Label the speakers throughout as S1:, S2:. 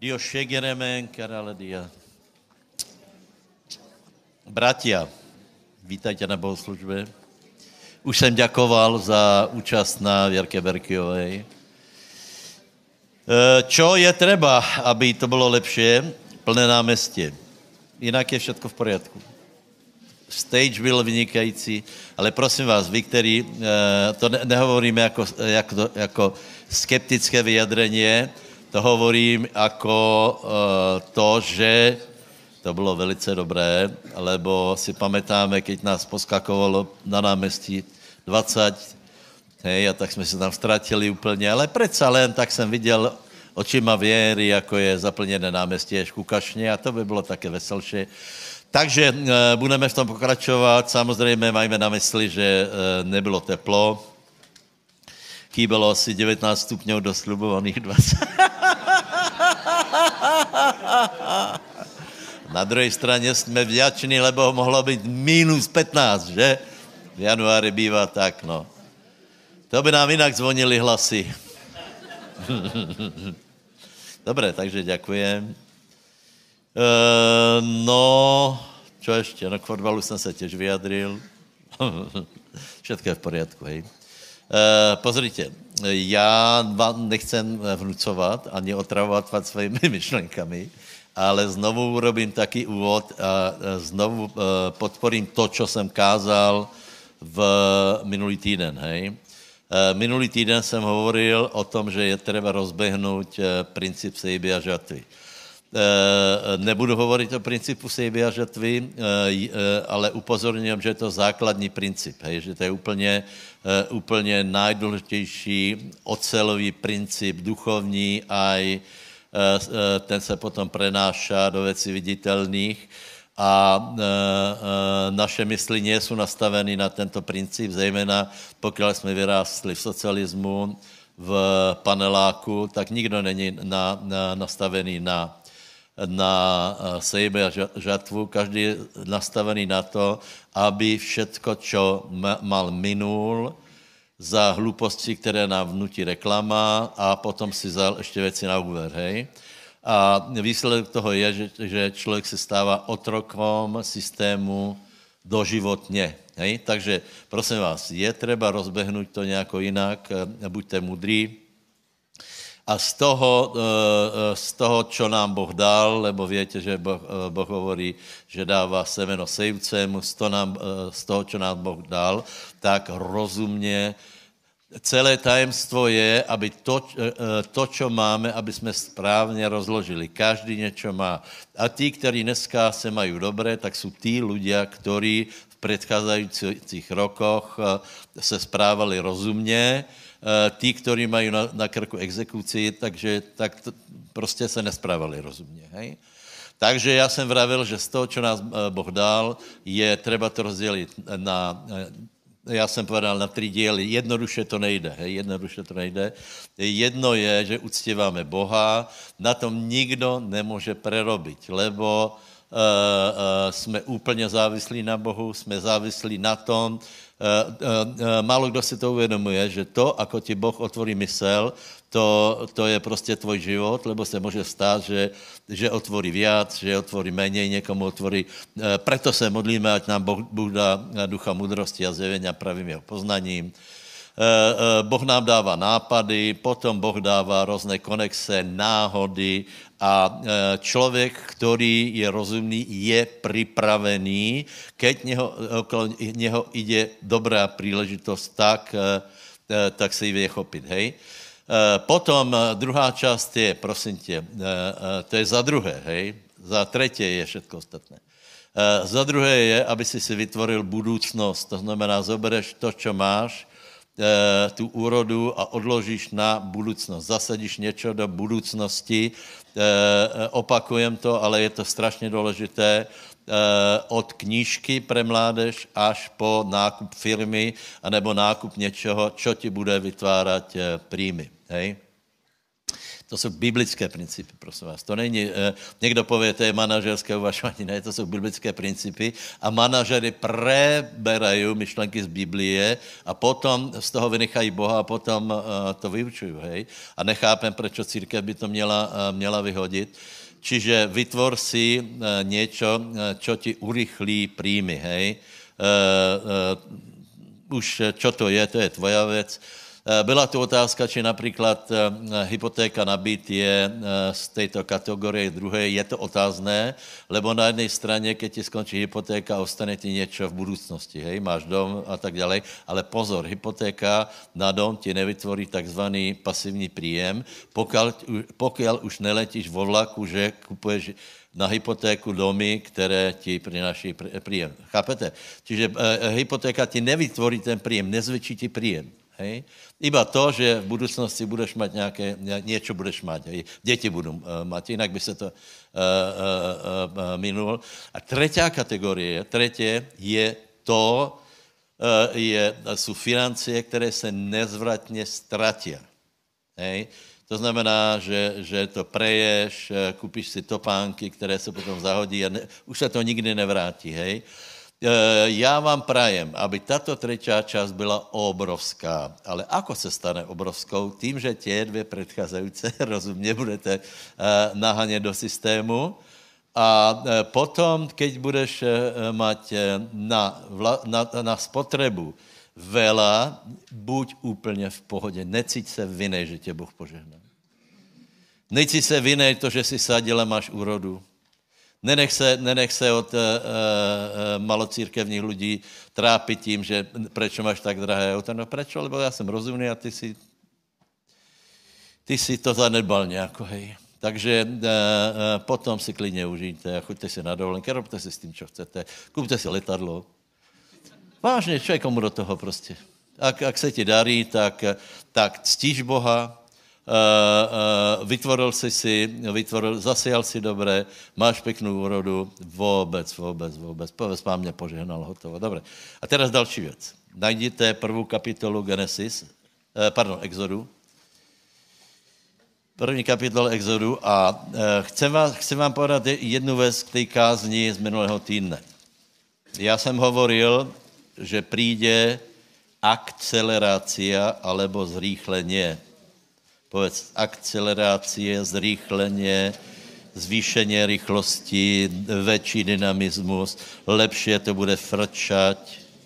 S1: Dio šegeremen, karaledia. Bratia, vítajte na bohoslužbe. Už jsem ďakoval za účast na Věrke Berkyovej. Čo je treba, aby to bylo lepšie? Plné náměstí. Jinak je všetko v poriadku. Stage byl vynikající, ale prosím vás, vy, který, to nehovoríme jako skeptické vyjadrenie, to hovorím jako to, že to bylo velice dobré, lebo si pamätáme, keď nás poskakovalo na náměstí 20, hej, a tak jsme se tam ztratili úplně, ale predsa len tak jsem viděl očima věry, jako je zaplněné náměstí až kukašně a to by bylo také veselšie. Takže budeme v tom pokračovat. Samozřejmě majme na mysli, že nebylo teplo. Chýbalo asi 19 stupňov do slubovaných 20. Na druhé straně jsme vďační, lebo mohlo být minus 15, že? V januári bývá tak, no. To by nám jinak zvonili hlasy. Dobre, takže ďakujem. No, čo ešte? No k fotbalu jsem se těž vyjadril. Všetko je v poriadku, hej. Pozrite, já vám nechcem vnucovat ani otravovat vás svými myšlenkami, ale znovu urobím taký úvod a znovu podporím to, čo jsem kázal v minulý týden, hej. Minulý týden jsem hovoril o tom, že je treba rozbehnout princip sejby a žatvy. Nebudu hovorit o principu sejby a žatvy, ale upozorňujem, že je to základní princip, hej, že to je úplně najdůležitější ocelový princip, duchovní, aj ten se potom prenáša do věcí viditelných a naše mysli nie sú nastaveny na tento princip, zejména pokud jsme vyrástli v socialismu, v paneláku, tak nikdo není nastavený na sejbe a žatvu, každý je nastavený na to, aby všetko, čo mal minul za hluposti, které nám vnutí reklama a potom si vzal ještě věci na úver, hej. A výsledek toho je, že člověk se stává otrokom systému doživotně, hej. Takže prosím vás, je treba rozbehnout to nějako jinak, buďte mudrý. A z toho, čo nám Boh dal, lebo viete, že Boh hovorí, že dává semeno sejúcemu, z toho, čo nám Boh dal, tak rozumne. Celé tajemstvo je, aby to, čo máme, aby sme správne rozložili. Každý niečo má. A tí, ktorí dneska se mají dobré, tak sú tí ľudia, ktorí v predchádzajúcich rokoch se správali rozumne. Tí, ktorí mají na krku exekúcii, tak prostě se nesprávali rozumně, hej. Takže já jsem vravil, že z toho, čo nás Boh dal, je treba to rozdělit já jsem povedal na 3 díly, jednoduše to nejde, hej, jednoduše to nejde. Jedno je, že uctíváme Boha, na tom nikdo nemůže prerobiť, lebo jsme úplně závislí na Bohu, jsme závislí na tom, málo kdo si to uvědomuje, že to, ako ti Boh otvorí mysel, to je prostě tvoj život, lebo se může stát, že otvorí viac, že otvorí menej, někomu otvorí. Preto se modlíme, ať nám Bůh dá ducha mudrosti a zjevenia pravým jeho poznaním. Boh nám dává nápady, potom Boh dává různé konexe, náhody a člověk, který je rozumný, je připravený, keď okolo něho ide dobrá příležitost, tak se ji vie chopit, hej. Potom druhá část je, prosím tě, to je za druhé, hej, za třetí je všetko ostatné. Za druhé je, aby si vytvoril budoucnost, to znamená, zobereš to, čo máš, tu úrodu a odložíš na budoucnost. Zasadíš něco do budoucnosti, opakujem to, ale je to strašně důležité, od knížky pre mládež až po nákup firmy anebo nákup něčeho, čo ti bude vytvárat príjmy. Hej? To jsou biblické principy, prosím vás. To není, někdo pově, to je manažerské uvažování, ne, to jsou biblické principy a manažery preberají myšlenky z Biblie a potom z toho vynechají Boha a potom to vyučují, hej. A nechápem, proč církev by to měla vyhodit. Čiže vytvor si niečo, čo ti urychlí príjmy, hej. Už čo to je tvoja vec. Byla tu otázka, či například hypotéka na byt je z této kategorie druhé. Je to otázné, lebo na jednej straně, keď ti skončí hypotéka, ostane ti něco v budoucnosti, hej, máš dom a tak dále, ale pozor, hypotéka na dom ti nevytvorí takzvaný pasivní príjem, pokiaľ už neletíš vo vlaku, že kupuješ na hypotéku domy, které ti přináší príjem. Chápete? Čiže hypotéka ti nevytvorí ten príjem, nezvětší ti príjem. Hej. Iba to, že v budoucnosti budeš mať niečo budeš mať, hej. Děti budou mať, jinak by se to minul. A třetí kategorie je to, jsou financie, které se nezvratně ztratí. Hej. To znamená, že to preješ, kupíš si topánky, které se potom zahodí a už se to nikdy nevrátí, hej. Já vám prajem, aby tato třetí část byla obrovská. Ale ako se stane obrovskou? Tím, že tě dvě předcházející rozumně budete nahánět do systému a potom, keď budeš mať na spotrebu veľa, buď úplně v pohodě. Necíť se vinej, že tě Bůh požehná. Necíť se vinej to, že si sadil a máš úrodu. Nenech se od malocírkevních lidí trápit tím, že prečo máš tak drahé auto. No prečo? Lebo já jsem rozumný a ty si to zanedbal nějako, hej. Takže potom si klidně užijte a choďte si na dovolenky, robte si s tím, čo chcete. Kupte si letadlo. Vážně, čo je komu do toho prostě. Ak se ti darí, tak ctíš Boha, zasejal si dobré, máš peknou úrodu, vůbec. Povedz, Pán mě požehnal, hotovo. Dobre. A teraz další věc. Najděte prvú kapitolu Exodu. První kapitol Exodu a chcem vám povedat jednu věc k té kázni z minulého týdne. Já jsem hovoril, že přijde akcelerácia alebo zrýchlenie. Povedz, akcelerácie, zrýchlenie, zvýšenie rychlosti, väčší dynamismus, lepšie to bude frčať.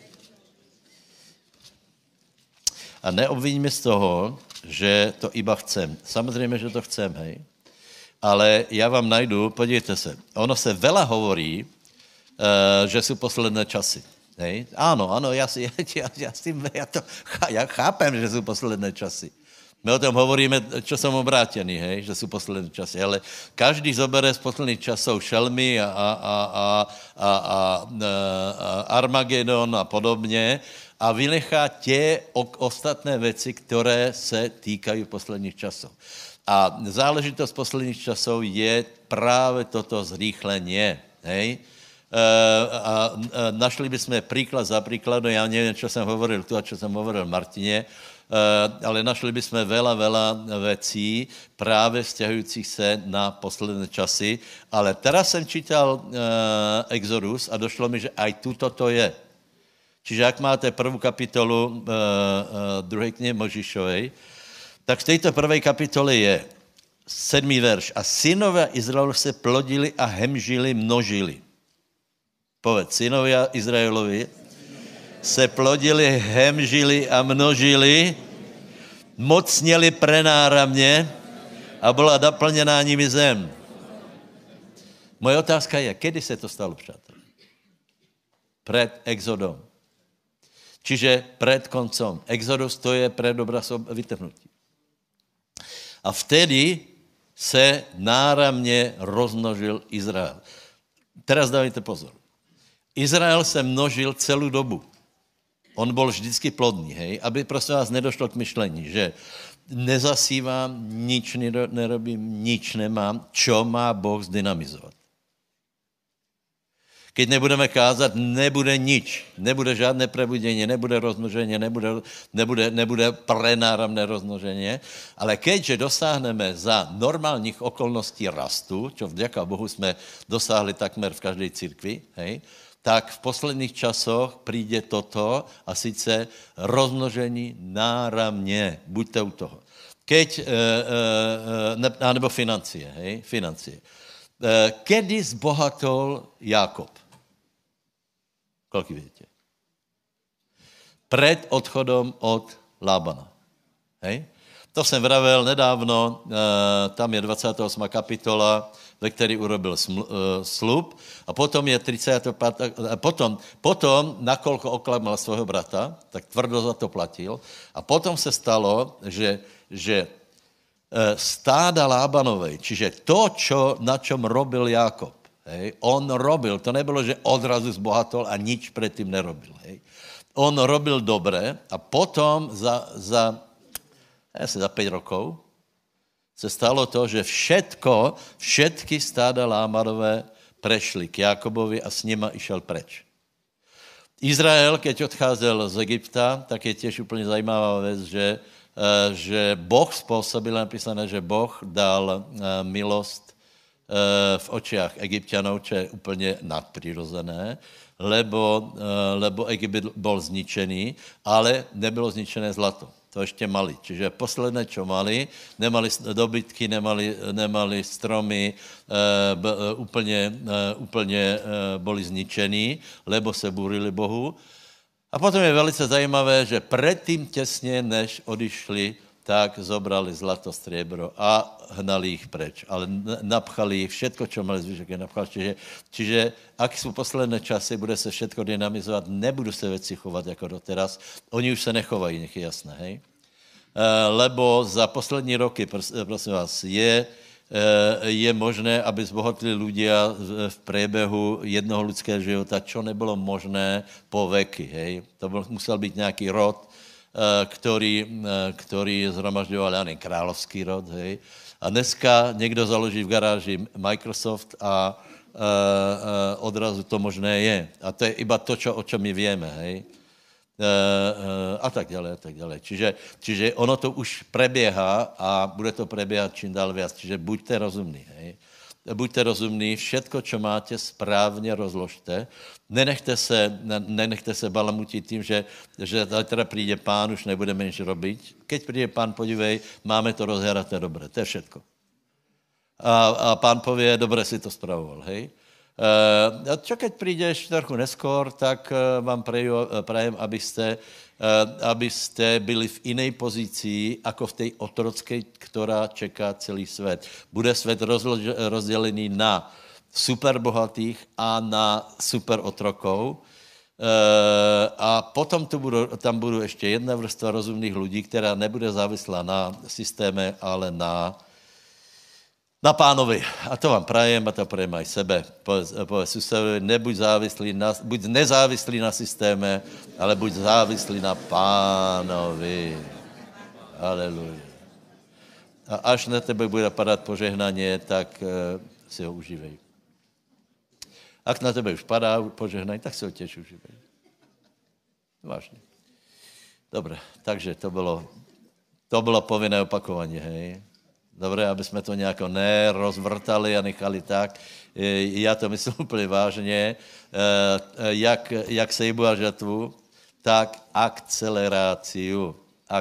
S1: A neobviňme z toho, že to iba chcem. Samozřejmě, že to chcem, hej. Ale já vám najdu, podívejte se, ono se veľa hovorí, že jsou posledné časy. Hej? Áno, já chápem, že jsou posledné časy. My o tom hovoríme, čo som obrátený, hej, že sú posledné časy, ale každý zobere z posledných časov šelmy a Armagedon a podobně a vynechá tie ostatné věci, které se týkají posledních časov. A záležitost posledních časov je právě toto zrýchlenie, hej. Našli bychom príklad za príkladom, já nevím, čo jsem hovoril tu a čo jsem hovoril Martině, ale našli bychom veľa vecí právě vzťahujících se na posledné časy, ale teraz jsem čítal Exodus a došlo mi, že aj tuto to je. Čiže jak máte prvú kapitolu druhej knihy Mojžišovej, tak v této prvej kapitole je 7. verš. A synové Izraelu se plodili a hemžili, množili. Povedz, synovia Izraelovi se plodili, hemžili a množili, mocněli prenáramně a byla naplněná nimi zem. Moje otázka je, kedy se to stalo, přátelé? Před Exodom. Čiže před koncom. Exodus to je před obraz vytrhnutí. A vtedy se náramně rozmnožil Izrael. Teraz dávajte pozor. Izrael se množil celou dobu. On byl vždycky plodný, hej, aby prosím vás nedošlo k myšlení, že nezasívám, nič nerobím, nič nemám, čo má Boh zdynamizovat. Keď nebudeme kázat, nebude nič. Nebude žádné prebudění, nebude rozmnožení, nebude prenáramné rozmnožení. Ale keďže dosáhneme za normálních okolností rastu, čo vďaka Bohu jsme dosáhli takmer v každej církvi, hej, tak v posledných časoch přijde toto a sice rozmnožení náramně. Buďte u toho. Nebo financie, hej, financie. Kedy zbohatol Jákob? Koľko viete? Pred odchodom od Lábana. Hej? To jsem vravel nedávno, tam je 28. kapitola, ve který urobil slub, a potom je 35. Potom nakolko oklamal svého brata, tak tvrdo za to platil, a potom se stalo, že stáda Lábanovej, čiže to, na čom robil Jákob, hej, on robil, to nebylo, že odrazu zbohatol a nič predtým nerobil, hej. On robil dobre a potom za 5 rokov se stalo to, že všetky stáda Lábanové prešli k Jákobovi a s nima išel preč. Izrael, keď odcházel z Egypta, tak je tiež úplne zajímavá vec, že Boh spôsobil, napísané, že Boh dal milost v očiach Egypťanov, čo je úplne nadprirozené, lebo Egypt bol zničený, ale nebylo zničené zlato. To ešte mali. Čiže posledné, čo mali, nemali dobytky, nemali stromy, úplne boli zničení, lebo se búrili Bohu. A potom je velice zajímavé, že predtým tesne, než odišli, tak zobrali zlato, striebro a hnali ich preč. Ale napchali ich, všetko, čo mali zvyšok, je napchali. Čiže ak sú posledné časy, bude se všetko dynamizovat, nebudú se veci chovať ako doteraz. Oni už se nechovají, nech je jasné, hej? Lebo za poslední roky, prosím vás, je možné, aby zbohatli ľudia v priebehu jednoho ľudského života, čo nebylo možné po veky, hej? To musel byť nejaký rod, ktorý zhromažďoval, ja neviem, královský rod, hej. A dneska někdo založí v garáži Microsoft a odrazu to možné je. A to je iba to, o čom my vieme, hej. A tak ďalej. Čiže ono to už prebieha a bude to prebiehať čím dál viac. Čiže buďte rozumní, hej. Buďte rozumní, všetko, čo máte, správně rozložte. Nenechte se balamutiť tým, že teda príde pán, už nebudeme nič robiť. Keď príde pán, podívej, máme to rozheraté dobre, to je všetko. A pán povie, dobre si to spravoval, hej. A čo keď prídeš trochu neskôr, tak vám prajem, aby ste byli v inej pozícii, ako v tej otrockej, ktorá čeká celý svet. Bude svet rozdelený na superbohatých a na superotrokov. A potom tam budú ešte jedna vrstva rozumných ľudí, ktorá nebude závislá na systéme, ale na pánovi. A to vám prajem, a to prajem aj sebe. Povedz susedovi, buď nezávislý na systéme, ale buď závislý na pánovi. Aleluja. A až na tebe bude padat požehnanie, tak si ho užívej. Ak na tebe už padá požehnanie, tak si ho tiež užívej. Vážne. Dobre, takže to bylo povinné opakovanie, hej. Dobre, aby sme to nejako nerozvrtali a nechali tak. Ja to myslím úplne vážne. Jak sejbúva žatvu, tak akceleráciu.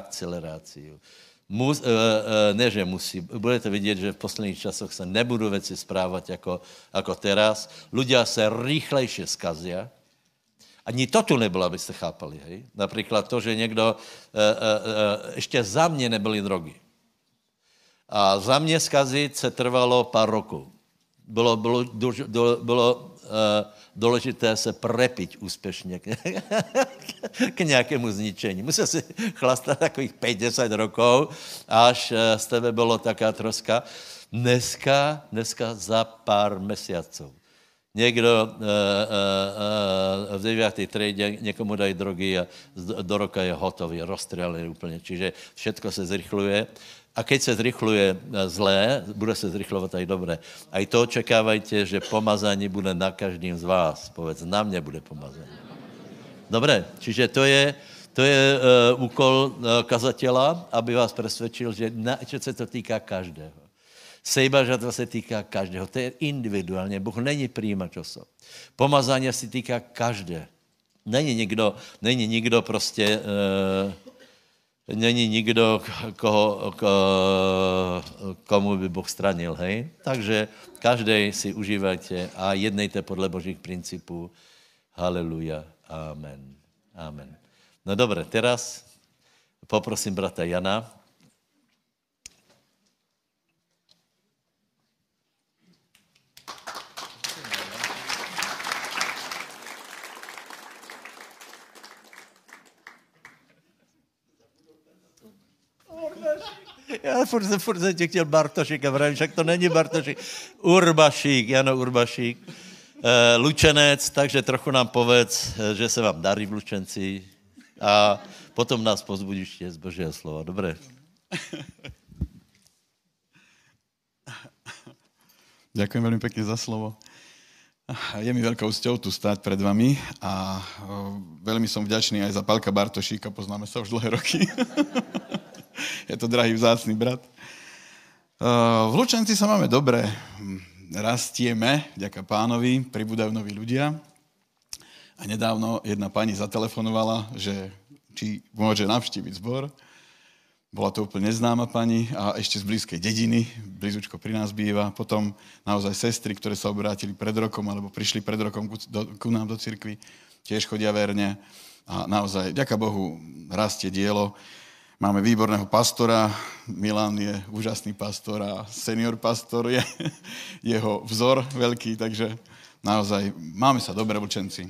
S1: Ne, že musí. Budete vidieť, že v posledných časoch sa nebudú veci správať ako teraz. Ľudia sa rýchlejšie skazia. Ani to tu nebylo, aby ste chápali. Hej? Napríklad to, že niekto... ešte za mne nebyli drogy. A za mě skazit se trvalo pár rokov. Bylo důležité se prepiť úspěšně k nějakému zničení. Musel si chlastat takových 5-10 rokov, až z tebe bylo taká troska. Dneska za pár mesiacov. Někdo v 9. triede někomu dají drogy a do roka je hotový, rozstřelený úplně. Čiže všetko se zrychluje. A keď se zrychluje zlé, bude se zrychlovat aj dobré. Aj to očekávajte, že pomazání bude na každým z vás. Povedz, na mne bude pomazání. Dobre, čiže to je úkol kazateľa, aby vás presvedčil, že se to týká každého. Sejba žatva se týká každého. To je individuálně. Bůh není přijímač osob. Pomazání se týká každé. Není nikdo prostě... Není nikdo, komu by Boh stranil, hej? Takže každej si užívajte a jednejte podle Božích principů. Haleluja. Amen. Amen. No dobre, teraz poprosím brata Jana. Já furt jsem tě chtěl Bartošik a vravím, však to není Bartošik. Urbašík, Jano Urbašík, Lučenec, takže trochu nám povedz, že se vám darí v Lučenci a potom nás pozbudíš z Božího slova. Dobré.
S2: Ďakujem veľmi pekne za slovo. Je mi veľkou cťou tu stáť pred vami a veľmi som vďačný aj za Pálka Bartošíka, poznáme sa už dlhé roky. Je to drahý vzácny brat. V Lučenci sa máme dobre, rastieme, vďaka Pánovi, pribúdajú noví ľudia. A nedávno jedna pani zatelefonovala, že či môže navštíviť zbor. Bola to úplne neznáma pani a ešte z blízkej dediny, blízučko pri nás býva. Potom naozaj sestry, ktoré sa obrátili pred rokom, alebo prišli pred rokom ku nám do cirkvi, tiež chodia verne. A naozaj, vďaka Bohu, rastie dielo. Máme výborného pastora, Milan je úžasný pastor a senior pastor je jeho vzor veľký, takže naozaj máme sa dobre, Vlčenci.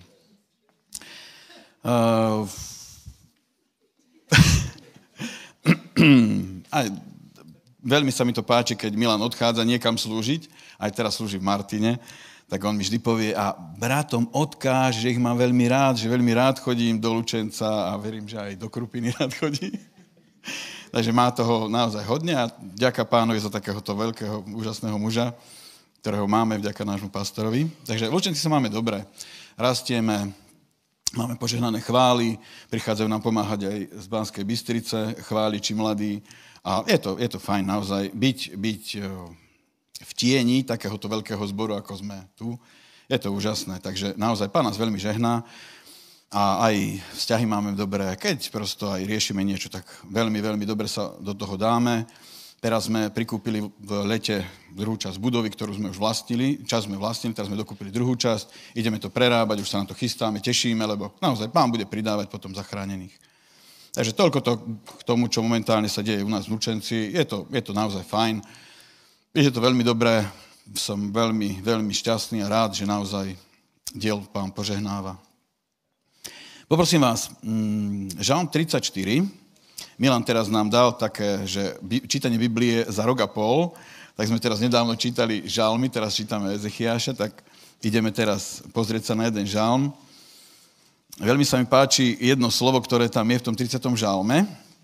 S2: A veľmi sa mi to páči, keď Milan odchádza niekam slúžiť, aj teraz slúži v Martine, tak on mi vždy povie a bratom odkáž, že ich mám veľmi rád, že veľmi rád chodím do Lučenca a verím, že aj do Krupiny rád chodí. Takže má toho naozaj hodne a ďaká Pánovi za takéhoto veľkého, úžasného muža, ktorého máme vďaka nášmu pastorovi. Takže v Lučenci sa máme dobre. Rastieme, máme požehnané chvály, prichádzajú nám pomáhať aj z Banskej Bystrice, chváliči mladí. A je to fajn naozaj byť v tieni takéhoto veľkého zboru, ako sme tu. Je to úžasné. Takže naozaj Pán nás veľmi žehná. A aj vzťahy máme dobré. Keď prosto aj riešime niečo, tak veľmi, veľmi dobre sa do toho dáme. Teraz sme prikúpili v lete druhú časť budovy, ktorú sme už vlastnili. Časť sme vlastnili, teraz sme dokúpili druhú časť. Ideme to prerábať, už sa na to chystáme, tešíme, lebo naozaj Pán bude pridávať potom zachránených. Takže toľko to k tomu, čo momentálne sa deje u nás v Lučenci. Je to naozaj fajn. Je to veľmi dobré. Som veľmi, veľmi šťastný a rád, že naozaj diel Pán požehnáva. Poprosím vás, Žalm 34, Milan teraz nám dal také, že čítanie Biblie za rok a pol, tak sme teraz nedávno čítali žalmy, teraz čítame Ezechiáša, tak ideme teraz pozrieť sa na jeden žalm. Veľmi sa mi páči jedno slovo, ktoré tam je v tom 30. žalme.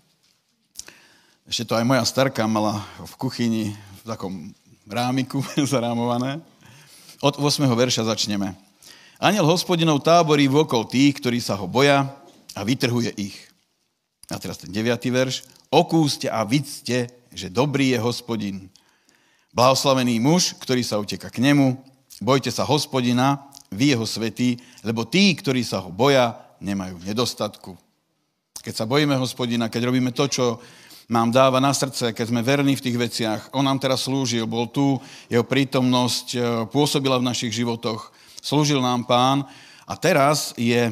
S2: Ešte to aj moja starka mala v kuchyni v takom rámiku zarámované. Od 8. verša začneme. Anjel Hospodinov táborí vôkol tých, ktorí sa ho boja a vytrhuje ich. A teraz ten 9. verš. Okúste a vidzte, že dobrý je Hospodin. Blahoslavený muž, ktorý sa uteká k nemu. Bojte sa Hospodina, vy jeho svätí, lebo tí, ktorí sa ho boja, nemajú nedostatku. Keď sa bojíme Hospodina, keď robíme to, čo nám dáva na srdce, keď sme verní v tých veciach, on nám teraz slúžil, bol tu, jeho prítomnosť pôsobila v našich životoch, slúžil nám Pán a teraz je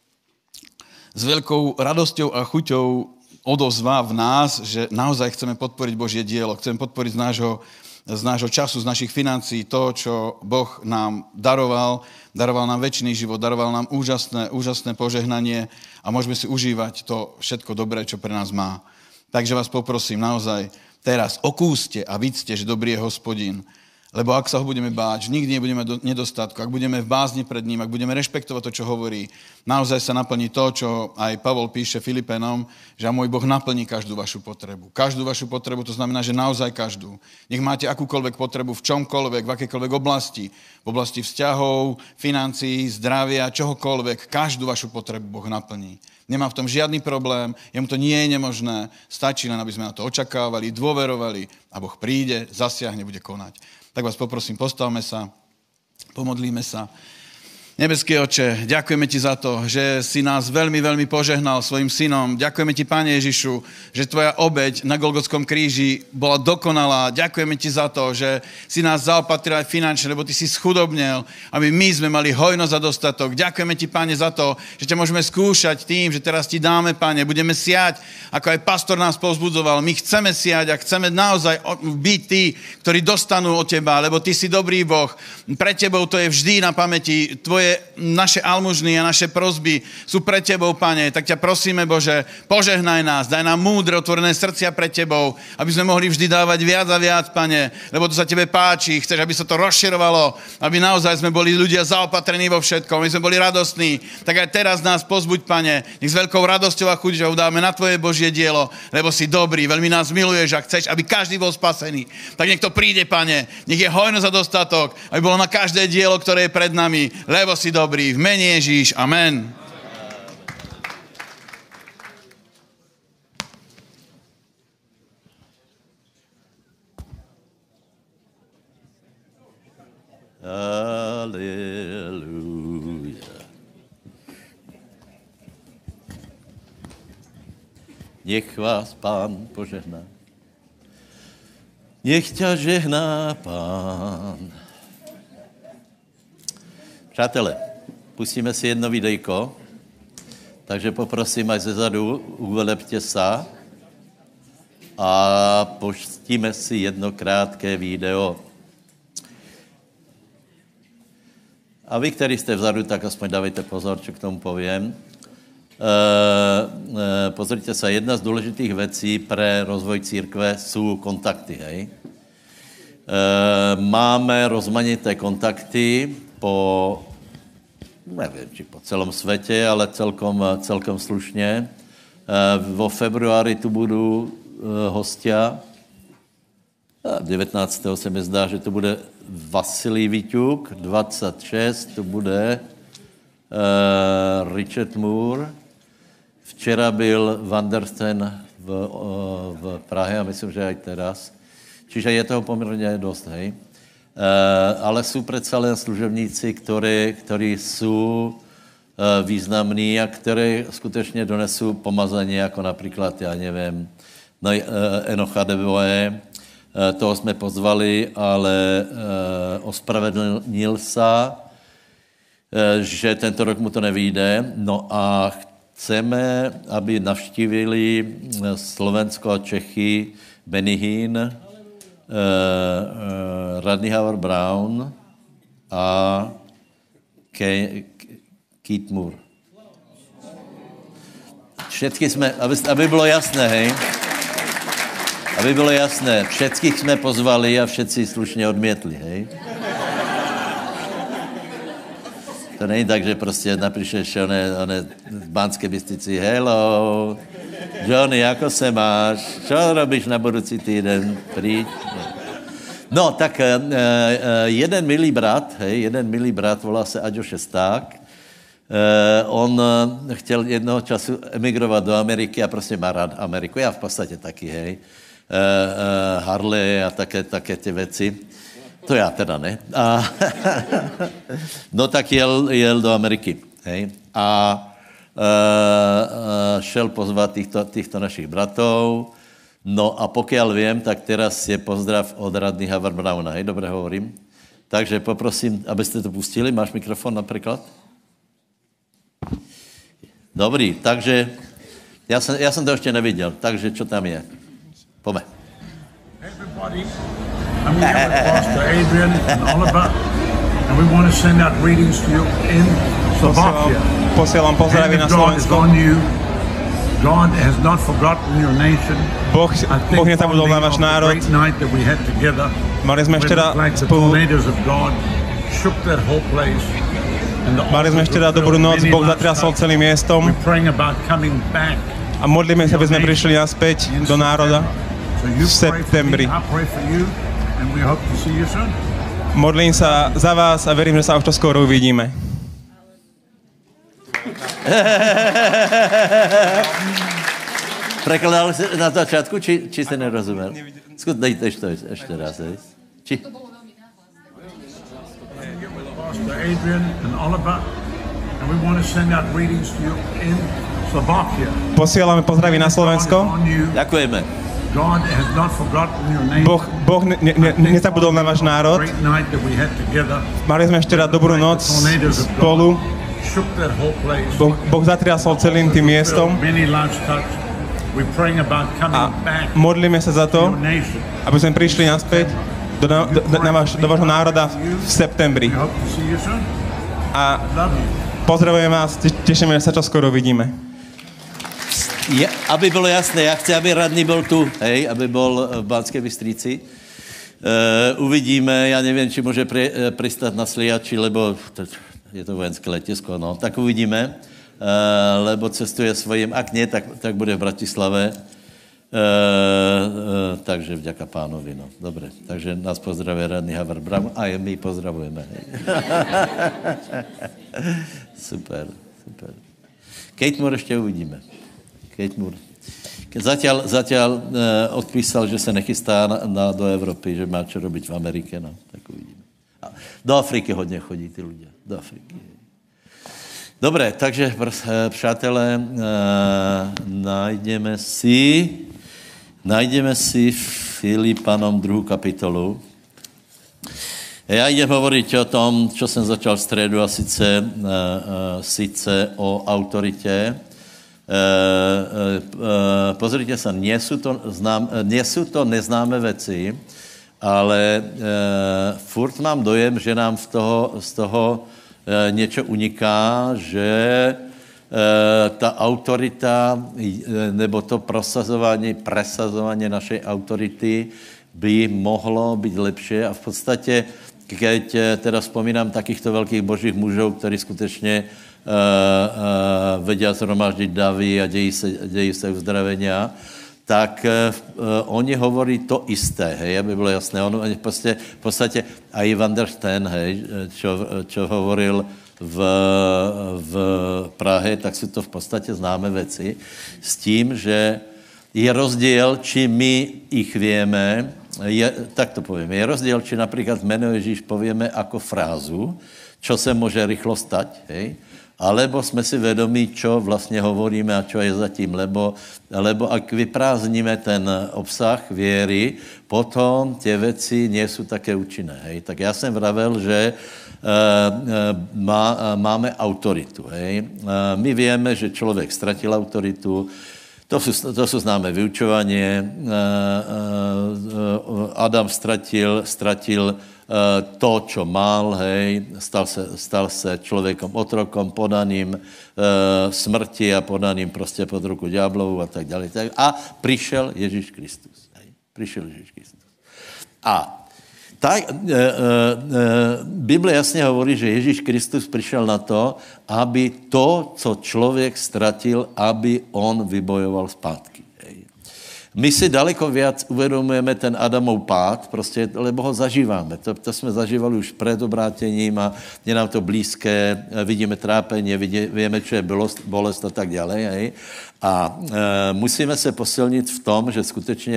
S2: s veľkou radosťou a chuťou odozva v nás, že naozaj chceme podporiť Božie dielo, chceme podporiť z nášho času, z našich financií to, čo Boh nám daroval. Daroval nám večný život, daroval nám úžasné požehnanie a môžeme si užívať to všetko dobré, čo pre nás má. Takže vás poprosím naozaj teraz okúste a vidzte, že dobrý je Hospodin. Lebo ak sa ho budeme báť, nikdy nebudeme mať nedostatku, ak budeme v bázni pred ním, ak budeme rešpektovať to, čo hovorí, naozaj sa naplní to, čo aj Pavol píše Filipenom, že môj Boh naplní každú vašu potrebu. Každú vašu potrebu, to znamená, že naozaj každú. Nech máte akúkoľvek potrebu v čomkoľvek, v akejkoľvek oblasti, v oblasti vzťahov, financií, zdravia, čohokoľvek, každú vašu potrebu Boh naplní. Nemá v tom žiadny problém, jemu to nie je nemožné, stačí len, aby sme na to očakávali, dôverovali a Boh príde, zasiahne, bude konať. Tak vás poprosím, postavme sa, pomodlíme sa. Nebeský Oče, ďakujeme Ti za to, že si nás veľmi, veľmi požehnal svojim synom. Ďakujeme Ti, Pane Ježišu, že Tvoja obeť na Golgotskom kríži bola dokonalá. Ďakujeme Ti za to, že si nás zaopatril aj finančne, lebo Ty si schudobnel, aby my sme mali hojnosť a dostatok. Ďakujeme Ti, Pane, za to, že ťa môžeme skúšať tým, že teraz Ti dáme, Pane, budeme siať, ako aj pastor nás povzbudzoval. My chceme siať a chceme naozaj byť tí, ktorí dostanú od Teba, lebo Ty si dobrý Boh. Pre Tebou to je vždy na pamäti. Naše almužny a naše prosby sú pre Tebou, Pane. Tak ťa prosíme, Bože, požehnaj nás, daj nám múdre, otvorené srdcia pre Tebou, aby sme mohli vždy dávať viac a viac, Pane, lebo to sa Tebe páči, chceš, aby sa to rozširovalo, aby naozaj sme boli ľudia zaopatrení vo všetkom, aby sme boli radostní. Tak aj teraz nás pozbuď, Pane, nech s veľkou radosťou a chuťou dáme na Tvoje Božie dielo, lebo si dobrý, veľmi nás miluješ a chceš, aby každý bol spasený. Tak nech to príde, Pane, nech je hojnosť a dostatok, aby bolo na každé dielo, ktoré je pred nami, lebo si dobrý. V mene Ježíš. Amen.
S1: Aleluja. Nech vás Pán požehná. Nech ťa žehná Pán. Přátelé, pustíme si jedno videjko, takže poprosím, aj zezadu uvelepte sa a pustíme si jedno krátké video. A vy, ktorí ste vzadu, tak aspoň dávajte pozor, čo k tomu poviem. Pozrite sa, jedna z dôležitých vecí pre rozvoj církve sú kontakty, hej? Máme rozmanité kontakty neviem, či po celom svete, ale celkom slušne. Vo februári tu budú hostia. 19. se mi zdá, že to bude Vasilij Viťuk, 26. tu bude Richard Moore. Včera byl Van der Steen v Prahe a myslím, že aj teraz. Čiže je toho pomerne dosť, hej. Ale sú predsa len služebníci, ktorí sú významní a ktorí skutečne donesú pomazanie, ako napríklad, ja neviem, Enocha Deboe, toho sme pozvali, ale ospravedlnil sa, že tento rok mu to nevyjde. No a chceme, aby navštívili Slovensko a Čechy Benny Hinn, Rodney Howard-Browne a Keith Moore. Všetky jsme, aby bylo jasné, hej? Aby bylo jasné, všetkých jsme pozvali a všetci slušně odmětli, hej? To není tak, že prostě napíšeš one v Banské Bystrici, hello, Johnny, jako se máš? Čo robíš na budoucí týden? Príď. No, tak jeden milý brat, volá se Aďo Šesták. On chtěl jednoho času emigrovat do Ameriky a prostě má rád Ameriku. Já v podstatě taky, hej. Harley a také ty věci. To já teda ne. No tak jel do Ameriky, hej. A šel pozvat týchto našich bratov. No a pokiaľ viem, tak teraz je pozdrav od Rodney Howard-Browna. Hej, dobre hovorím. Takže poprosím, abyste to pustili. Máš mikrofon napríklad? Dobrý, takže ja som to ešte nevidel. Takže čo tam je? Pome.
S3: Everybody, I'm here with Pastor Adrian and Oliver, and we want to send out greetings to you in Slovakia.
S4: Posielam pozdraví na Slovensku.
S3: God has not forgotten your nation.
S4: Boh nezabudol na váš národ. Mali sme ešte raz dobrú noc, Boh zatriasol celým miestom a modlíme sa, aby sme prišli naspäť do národa v septembri. Modlím sa za vás a verím, že sa už to skoro uvidíme.
S1: Prekladal si na začátku, či si nerozumel? Dejte to ešte raz. Či?
S3: Adrian and Oliver, and we want to send out greetings to you in Slovakia.
S4: Posielame pozdraví na Slovensko.
S1: Ďakujeme.
S3: God has not forgotten your name.
S4: Boh nezabudol na váš národ. Mali sme ešte raz dobrú noc spolu. Boh zatriasol celým tým miestom. A modlíme sa za to, aby sme prišli naspäť do vášho národa v septembri. A pozdravujem vás, tešíme, že sa čoskoro vidíme.
S1: Aby bylo jasné, ja chci, aby radný bol tu, hej, aby bol v Banskej Bystrici. Uvidíme, ja neviem, či môže pristať na Sliači, lebo je to vojenské letisko, no, tak uvidíme, lebo cestuje svojím, ak nie, tak bude v Bratislave. Takže vďaka pánovi, no. Dobre, takže nás pozdravuje radný Havard Bram a my pozdravujeme. Super. Kate Moore ešte uvidíme. Kate Moore. Zatiaľ odpísal, že sa nechystá do Evropy, že má čo robiť v Amerike, no, tak uvidíme. Do Afriky hodne chodí tí ľudia, do Afriky. Dobre, takže, přátelé, Najdeme si Filipanom 2. kapitolu. Ja idem hovoriť o tom, čo som začal v stredu, a sice o autorite. Pozrite sa, nie sú to neznáme veci, ale furt mám dojem, že nám z toho niečo uniká, že ta autorita nebo to presazovanie našej autority by mohlo byť lepšie a v podstate, keď teda spomínam takýchto veľkých božích mužov, ktorí skutečne vedia zhromaždiť davy a dejí sa uzdravenia, tak oni hovorí to isté, hej, aby bylo jasné. Oni v podstate aj Van der Steen, hej, čo hovoril v Prahe, tak sú to v podstate známe veci. S tím, že je rozdiel, či my ich vieme, tak to povieme, je rozdiel, či napríklad meno Ježíš povieme ako frázu, čo sa môže rýchlo stať, hej, alebo sme si vedomí, čo vlastne hovoríme a čo je za tým, lebo ak vyprázdnime ten obsah viery, potom tie veci nie sú také účinné, hej. Tak ja som vravel, že máme autoritu. Hej. My vieme, že človek stratil autoritu, to sú známe vyučovanie. Adam stratil to, čo mal, hej. Stal sa človekom otrokom, podaným smrti a podaným proste pod ruku diablovu a tak ďalej. A prišiel Ježíš Kristus. Hej. Prišiel Ježíš Kristus. A Biblia jasne hovorí, že Ježíš Kristus prišiel na to, aby to, co človek stratil, aby on vybojoval zpátky. My si daleko viac uvedomujeme ten Adamov pád, prostě, lebo ho zažíváme. To jsme zažívali už před obrátením a je nám to blízké, vidíme trápení, víme, čo je bolest a tak ďalej. Hej. A musíme se posilnit v tom, že skutečně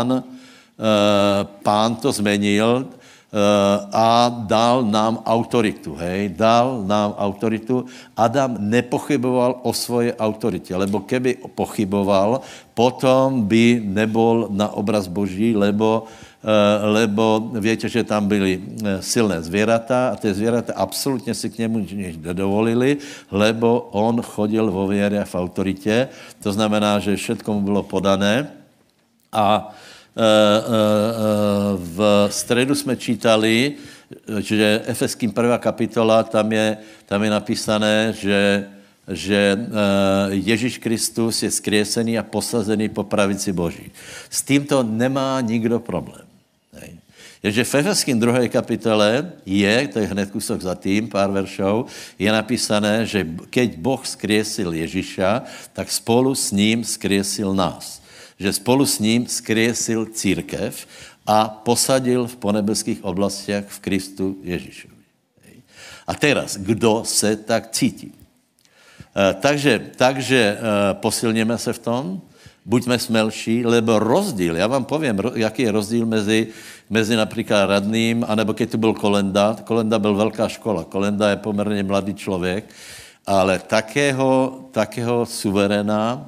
S1: Pán to zmenil a dal nám autoritu, hej, dal nám autoritu. Adam nepochyboval o svojej autorite, lebo keby pochyboval, potom by nebol na obraz Boží, lebo viete, že tam byli silné zvieratá a tie zvieratá absolútne si k nemu nič nedovolili, lebo on chodil vo viere a v autorite. To znamená, že všetko mu bylo podané a v stredu jsme čítali, že Efeským 1. kapitola, tam je napísané, že že Ježíš Kristus je skriesený a posazený po pravici Boží. S týmto nemá nikdo problém. Ježe v Efeským 2. kapitole to je hned kúsok za tým, pár veršov, je napísané, že keď Boh skriesil Ježíša, tak spolu s ním skriesil nás. Že spolu s ním skriesil církev a posadil v ponebeských oblastiach v Kristu Ježíšovi. A teraz, kdo se tak cítí? Takže posilněme se v tom, buďme smelší, lebo rozdíl, já vám povím, jaký je rozdíl mezi například radným, anebo keď tu byl Kolenda. Kolenda byl velká škola. Kolenda je poměrně mladý člověk, ale takého suveréna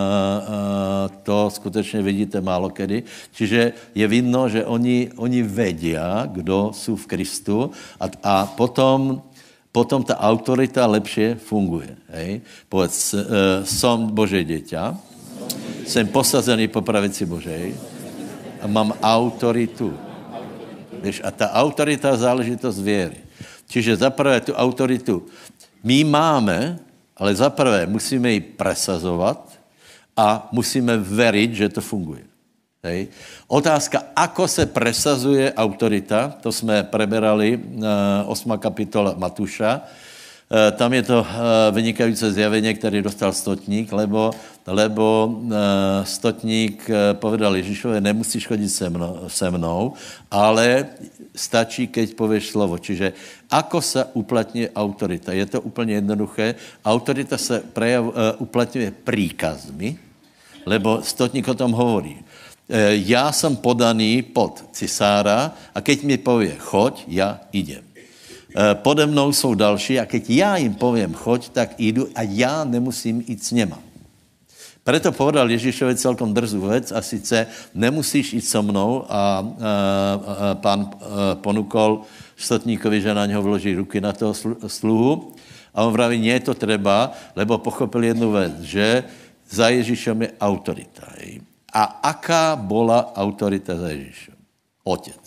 S1: to skutečně vidíte málo kedy. Čiže je vidno, že oni vedia, kdo jsou v Kristu a potom ta autorita lepšie funguje. Hej? Povedz, som Božie dieťa, jsem posazený po pravici Božej a mám autoritu. Víš, a ta autorita je záležitost věry. Čiže zaprvé tu autoritu my máme, ale zaprvé musíme ji presazovat a musíme veriť, že to funguje. Hej. Otázka, ako se presazuje autorita, to jsme preberali 8. kapitola Matúša. Tam je to vynikající zjavenie, který dostal stotník, lebo stotník povedal Ježíšovi, nemusíš chodit se mnou, ale stačí, keď povieš slovo. Čiže ako se uplatňuje autorita? Je to úplně jednoduché. Autorita se uplatňuje príkazmi, lebo stotník o tom hovorí. Já jsem podaný pod cisára a keď mi povie choď, já idem. Pode mnou jsou další a keď já jim povím choď, tak jdu a já nemusím jít s něma. Preto povedal Ježíšovi celkom drzú vec a sice nemusíš jít so mnou a pán ponúkol stotníkovi, že na něho vloží ruky na toho sluhu a on vraví, nie je to treba, lebo pochopil jednu vec, že za Ježíšom je autorita. A aká bola autorita za Ježíšom? Otec.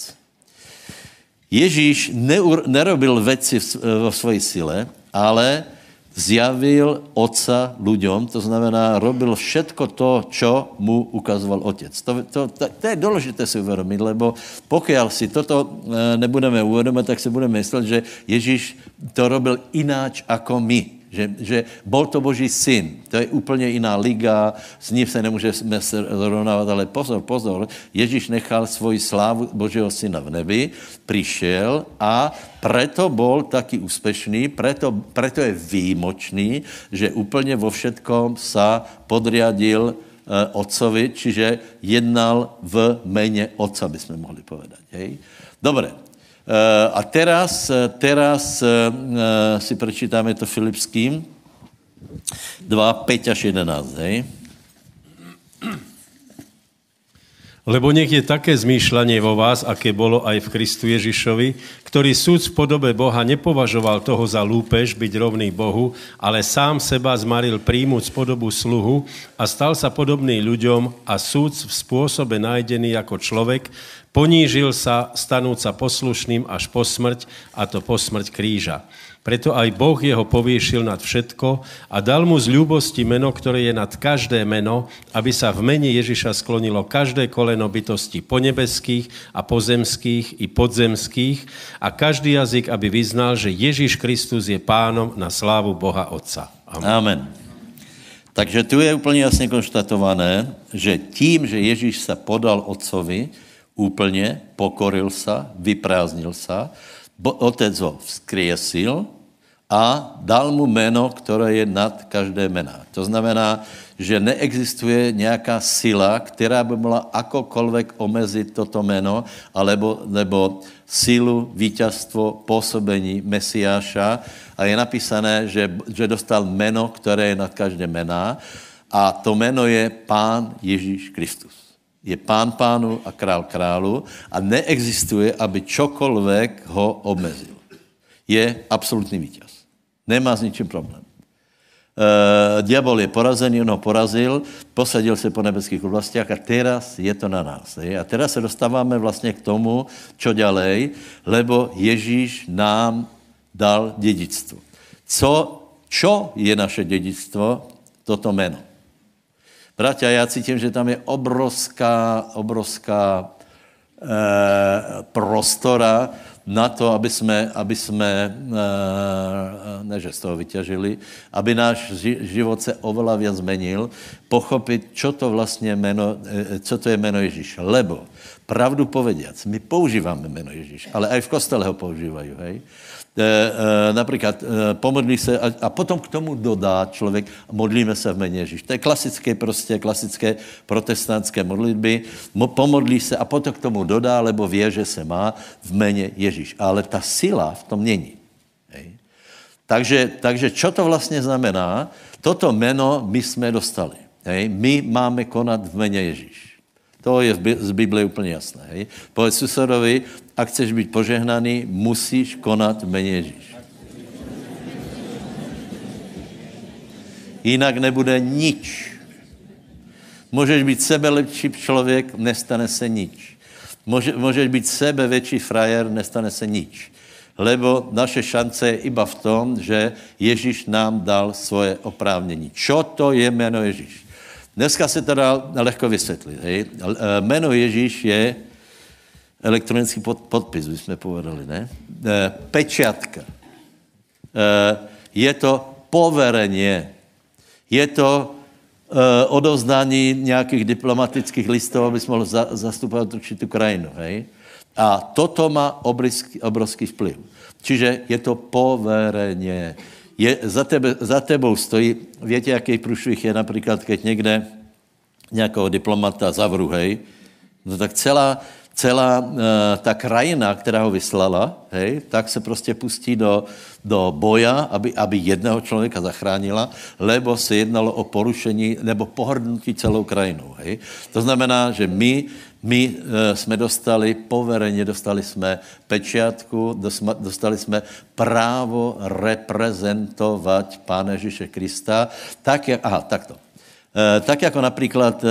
S1: Ježíš nerobil veci vo svojej sile, ale zjavil Otca ľuďom, to znamená, robil všetko to, čo mu ukazoval Otec. To je dôležité si uvedomiť, lebo pokiaľ si toto nebudeme uvedomiť, tak si budeme myslet, že Ježíš to robil ináč ako my. Že bol to Boží syn. To je úplně jiná liga, s ním se nemůžeme zrovnávat, ale pozor, Ježíš nechal svoji slávu Božího syna v nebi, přišel a preto bol taký úspešný, preto je výjimočný, že úplně vo všetkom sa podriadil otcovi, čiže jednal v mene otca, by sme mohli povedať. Hej? Dobre. A teraz si prečítame to Filipským 2, 5 až 11, hej?
S5: Lebo nech je také zmýšľanie vo vás, aké bolo aj v Kristu Ježišovi, ktorý súd v podobe Boha nepovažoval toho za lúpež byť rovný Bohu, ale sám seba zmaril príjmuť podobu sluhu a stal sa podobný ľuďom a súd v spôsobe nájdený ako človek, ponížil sa, stanúť sa poslušným až po smrť, a to po smrť kríža. Preto aj Boh jeho povýšil nad všetko a dal mu z ľúbosti meno, ktoré je nad každé meno, aby sa v mene Ježiša sklonilo každé koleno bytosti ponebeských a pozemských i podzemských a každý jazyk, aby vyznal, že Ježiš Kristus je pánom na slávu Boha Otca. Amen.
S1: Amen. Takže tu je úplně jasně konštatované, že tím, že Ježíš sa podal Otcovi, úplne pokoril sa, vyprázdnil sa, Otec ho vzkriesil a dal mu meno, ktoré je nad každé meno. To znamená, že neexistuje nejaká sila, která by mohla akokoľvek omeziť toto meno, alebo sílu, víťazstvo, pôsobení Mesiáša. A je napísané, že dostal meno, ktoré je nad každé meno. A to meno je Pán Ježíš Kristus. Je pán pánu a král králu a neexistuje, aby čokoľvek ho obmezil. Je absolútny víťaz. Nemá s ničím problém. Diabol je porazený, on ho porazil, posadil se po nebeských oblastiach a teraz je to na nás. A teraz se dostáváme vlastně k tomu, čo ďalej, lebo Ježíš nám dal dedičstvo. Čo je naše dedičstvo? Toto meno. Bratia, ja cítim, že tam je obrovská prostora na to, aby sme ne, že z toho vyťažili, aby náš život se oveľa viac zmenil, pochopiť, čo to vlastne co to je meno Ježíš. Lebo, pravdu povediac, my používame meno Ježíš, ale aj v kostele ho používajú, hej. Napríklad pomodlí se a potom k tomu dodá člověk, modlíme se v mene Ježíš. To je klasické protestantské modlitby. Pomodlí se a potom k tomu dodá, lebo vie, že se má v mene Ježíš. Ale ta sila v tom není. Hej. Takže čo to vlastně znamená? Toto meno my jsme dostali. Hej. My máme konat v mene Ježíš. To je z Bible úplně jasné. Hej. Povedz susedovi, ak chceš být požehnaný, musíš konat v mene Ježíš. Jinak nebude nič. Můžeš být sebelepší člověk, nestane se nič. Můžeš být sebevětší frajer, nestane se nič. Lebo naše šance je iba v tom, že Ježíš nám dal svoje oprávnění. Čo to je jméno Ježíš? Dneska se to dá lehko vysvětlit. Hej. Jméno Ježíš je elektronický podpis, bychom povedali, ne? Pečiatka. Je to poverenie. Je to odovzdání nějakých diplomatických listov, aby mohl zastupovat určitou krajinu. Hej? A toto má obrovský vplyv. Čiže je to poverenie. Za tebou stojí, viete, jaký průšvih je například, keď někde nějakého diplomata zavru, hej, no tak celá ta krajina, která ho vyslala, hej, tak se prostě pustí do boja, aby jedného člověka zachránila, lebo se jednalo o porušení nebo pohrdnutí celou krajinou. Hej. To znamená, že my jsme dostali poverenie, dostali jsme pečiatku, dostali jsme právo reprezentovat Pána Ježíše Krista, takto. Tak jako například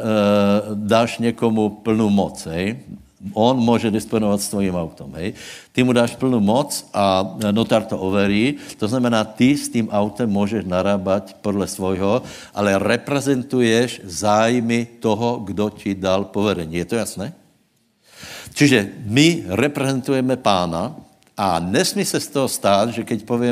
S1: dáš někomu plnou moc, hej? On může disponovat s tvojím autom, hej? Ty mu dáš plnou moc a notár to overí, to znamená, ty s tím autem můžeš narábať podle svojho, ale reprezentuješ zájmy toho, kdo ti dal poverení. Je to jasné? Čiže my reprezentujeme Pána a nesmí se z toho stát, že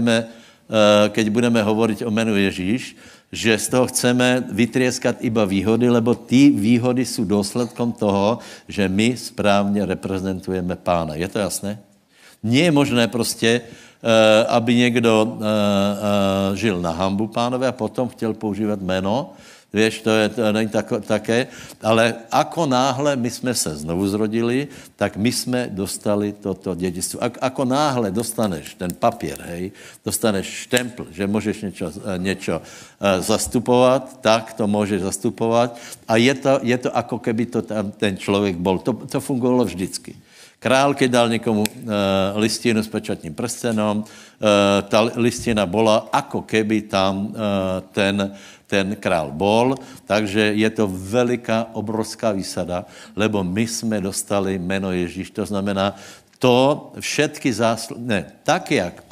S1: keď budeme hovoriť o menu Ježíš, že z toho chceme vytrieskat iba výhody, lebo ty výhody jsou důsledkom toho, že my správně reprezentujeme Pána. Je to jasné? Nie je možné prostě, aby někdo žil na hanbu Pánové a potom chtěl používat jméno. Vieš, to není také, ale ako náhle my jsme se znovu zrodili, tak my jsme dostali toto dědictvo. Ako náhle dostaneš ten papír, hej, dostaneš štempl, že můžeš něco zastupovat, tak to můžeš zastupovat a je to ako keby to tam ten člověk bol. To fungovalo vždycky. Král, keď dal někomu listinu s pečatním prstenom, ta listina bola, ako keby tam ten král bol, takže je to veliká, obrovská výsada, lebo my jsme dostali jméno Ježíš, to znamená, to všetky zásluhy, ne, tak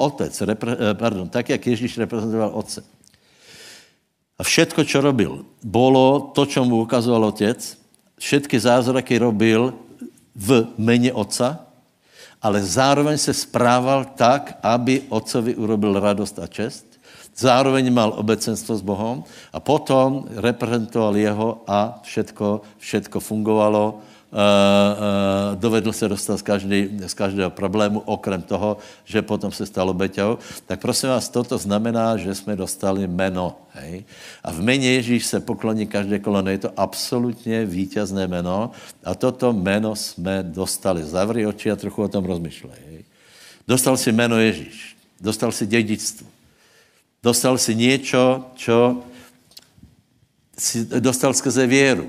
S1: jak Ježíš reprezentoval Otce. A všetko, čo robil, bolo to, čo mu ukazoval Otec, všetky zázraky robil v mene Otca, ale zároveň se správal tak, aby Otcovi urobil radost a čest, zároveň mal obecenstvo s Bohom a potom reprezentoval jeho a všetko fungovalo, dovedl se dostat z každého problému, okrem toho, že potom se stalo obeťou. Tak prosím vás, toto znamená, že jsme dostali jméno. Hej? A v jméně Ježíš se pokloní každé koleno. Je to absolutně vítězné jméno a toto jméno jsme dostali. Zavri oči a trochu o tom rozmyšlej. Hej? Dostal si jméno Ježíš. Dostal si dědictvo. Dostal si niečo, čo si dostal skrze věru.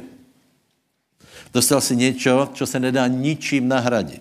S1: Dostal si niečo, čo se nedá ničím nahradit.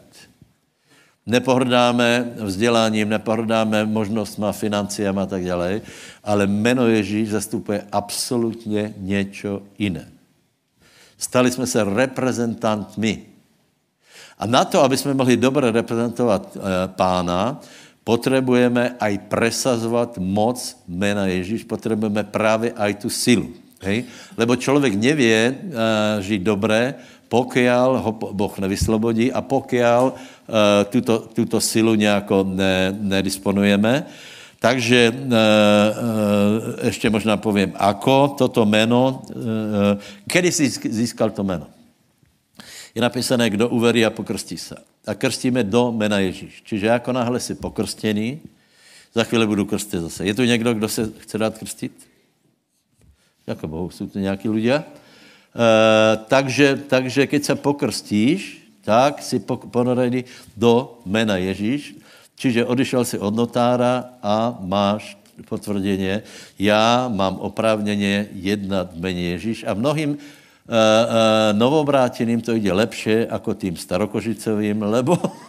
S1: Nepohrdáme vzděláním, nepohrdáme možnostma, financiama a tak ďalej, ale jméno Ježíš zastupuje absolutně niečo iné. Stali jsme se reprezentantmi. A na to, aby jsme mohli dobře reprezentovat Pána, potrebujeme aj presazovať moc mena Ježíš, potrebujeme práve aj tú silu. Hej? Lebo človek nevie žiť dobre, pokiaľ ho Boh nevyslobodí a pokiaľ túto silu nejako nedisponujeme. Takže ešte možná poviem, ako toto meno, kedy si získal to meno? Je napísané, kdo uverí a pokrstí sa. A krstíme do mena Ježíš. Čiže ako náhle si pokrstený, za chvíli budu krstit zase. Je tu někdo, kdo se chce dát krstit? Ďakujem Bohu, sú tu nejakí ľudia. Takže keď sa pokrstíš, tak si ponorený do mena Ježíš. Čiže odišel si od notára a máš potvrdenie, ja mám oprávnenie jednať v mene Ježíš. A mnohým novobráteným to ide lepšie ako tým starokožicovým, lebo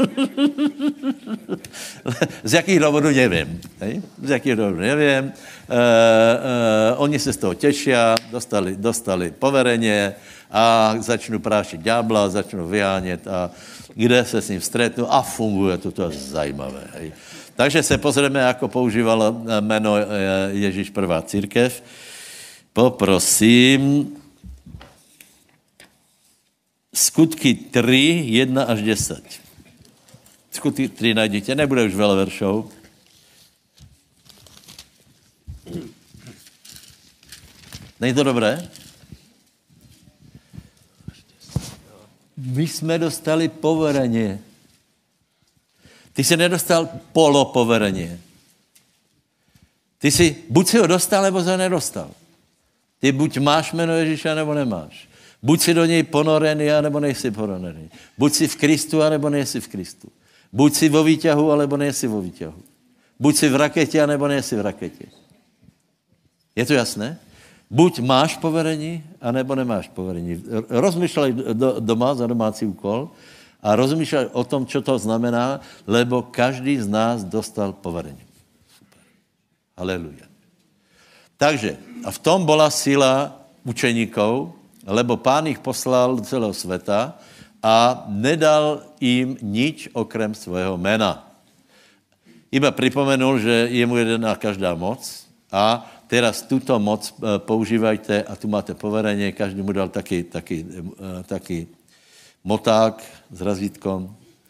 S1: z jakých dôvodů neviem. Hej? Z jakých dôvodů neviem. Oni se z toho tešia, dostali poverenie a začnú prášiť ďábla, začnú vyhánět a kde se s ním stretnú a funguje to je zajímavé. Hej? Takže se pozrieme, ako používalo meno Ježíš prvá církev. Poprosím, Skutky 3, 1 až 10. Skutky 3 najdete, nebude už veľa veršov. Není to dobré? My jsme dostali poverenie. Ty si nedostal polopoverenie. Ty si, buď si ho dostal, nebo si ho nedostal. Ty buď máš jméno Ježíša, nebo nemáš. Buď si do něj ponorený, anebo nejsi ponorený. Buď si v Kristu, anebo nejsi v Kristu. Buď si vo výťahu, alebo nejsi vo výťahu. Buď si v rakete, anebo nejsi v rakete. Je to jasné? Buď máš poverení, anebo nemáš poverení. Rozmýšľaj doma za domácí úkol a rozmýšľaj o tom, čo to znamená, lebo každý z nás dostal poverení. Super. Haleluja. Takže, a v tom bola sila učeníkov, lebo Pán ich poslal do celého sveta a nedal im nič okrem svojho mena. Iba pripomenul, že je mu jedená každá moc a teraz túto moc používajte a tu máte poverenie, každý mu dal taký moták s razítkom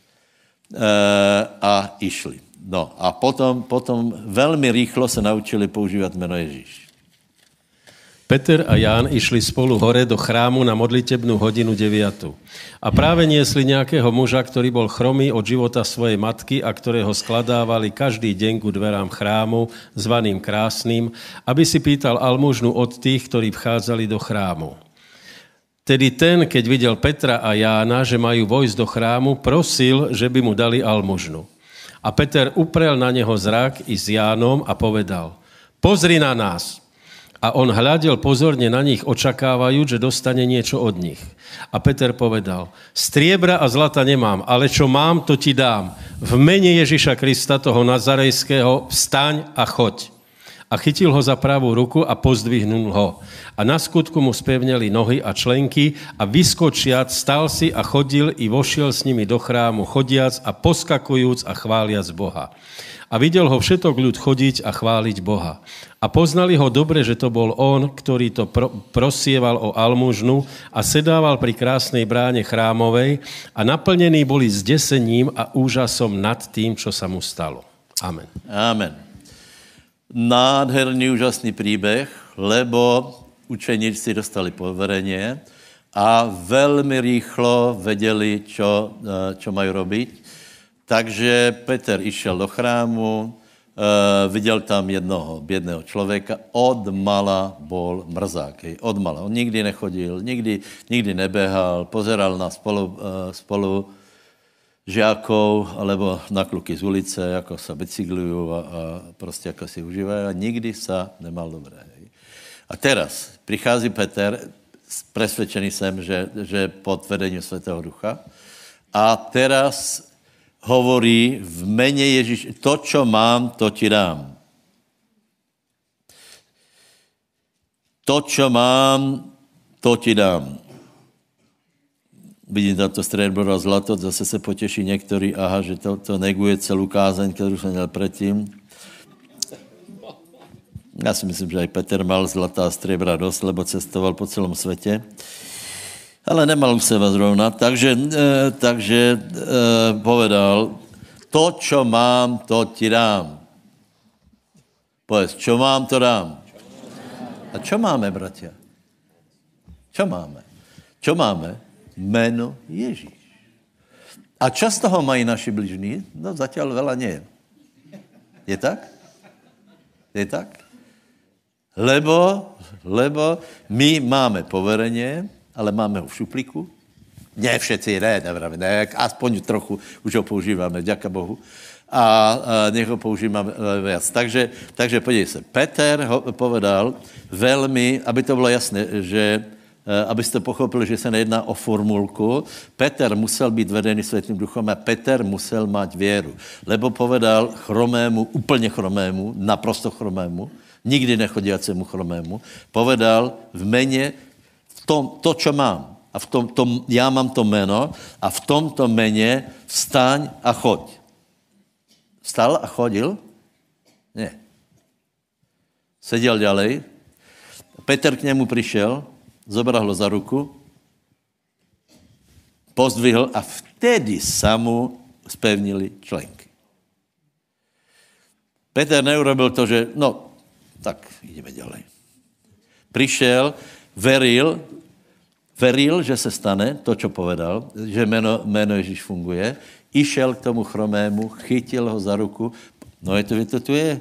S1: a išli. No a potom veľmi rýchlo sa naučili používať meno Ježíš.
S5: Peter a Ján išli spolu hore do chrámu na modlitebnú hodinu 9. A práve niesli nejakého muža, ktorý bol chromý od života svojej matky a ktorého skladávali každý deň ku dverám chrámu, zvaným Krásnym, aby si pýtal almužnu od tých, ktorí vchádzali do chrámu. Tedy ten, keď videl Petra a Jána, že majú vojsť do chrámu, prosil, že by mu dali almužnu. A Peter uprel na neho zrak i s Jánom a povedal, pozri na nás. A on hľadel pozorne na nich, očakávajúc, že dostane niečo od nich. A Peter povedal, striebra a zlata nemám, ale čo mám, to ti dám. V mene Ježiša Krista, toho Nazarejského, vstaň a choď. A chytil ho za pravú ruku a pozdvihnul ho. A na skutku mu spevneli nohy a členky a vyskočiac stal si a chodil i vošiel s nimi do chrámu, chodiac a poskakujúc a chváliac Boha. A videl ho všetok ľud chodiť a chváliť Boha. A poznali ho dobre, že to bol on, ktorý to prosieval o almužnu a sedával pri krásnej bráne chrámovej a naplnení boli zdesením a úžasom nad tým, čo sa mu stalo. Amen.
S1: Amen. Nádherný, úžasný príbeh, lebo učeníci dostali poverenie a veľmi rýchlo vedeli, čo majú robiť. Takže Peter išiel do chrámu, viděl tam jednoho biedného člověka, odmala bol mrzák. Odmala. On nikdy nechodil, nikdy nebehal, pozeral na spolu žiakov alebo na kluky z ulice, ako sa bicyklujú a prostě ako si užívajú a nikdy sa nemal dobré. A teraz prichází Peter, presvedčený jsem, že pod vedením Svätého Ducha a teraz hovorí v mene Ježíš, to, čo mám, to ti dám. To, čo mám, to ti dám. Vidím tam to striebro a zlato, zase se potěší některý, aha, že to neguje celou kázeň, kterou jsem měl předtím. Já si myslím, že aj Peter mal zlatá a striebra dosť, lebo cestoval po celom svete. Ale nemal u seba zrovna. Takže povedal, to, čo mám, to ti dám. Povedz, čo mám, to dám. A čo máme, bratia? Čo máme? Čo máme? Meno Ježíš. A čo z toho mají naši bližní? No zatiaľ veľa nie. Je tak? Je tak? Lebo my máme poverenie, ale máme ho v šuplíku. Nie všetci, ne, aspoň trochu už ho používame, ďaká Bohu. A nech ho používame viac. Takže podívej sa, Peter ho povedal veľmi, aby to bylo jasné, že abyste pochopili, že se nejedná o formulku, Peter musel být vedený Svätým Duchom a Peter musel mať věru. Lebo povedal chromému, úplně chromému, naprosto chromému, nikdy nechodiacemu chromému, povedal v mene, to, čo mám, a já mám to meno, a v tomto mene vstaň a choď. Vstal a chodil? Ne. Seděl ďalej. Peter k němu přišel, zobral ho za ruku, pozdvihl a vtedy sa mu spevnili členky. Peter neurobil to, že tak ideme ďalej. Prišiel, veril, že se stane to, čo povedal, že meno Ježíš funguje, išiel k tomu chromému, chytil ho za ruku, to tu je.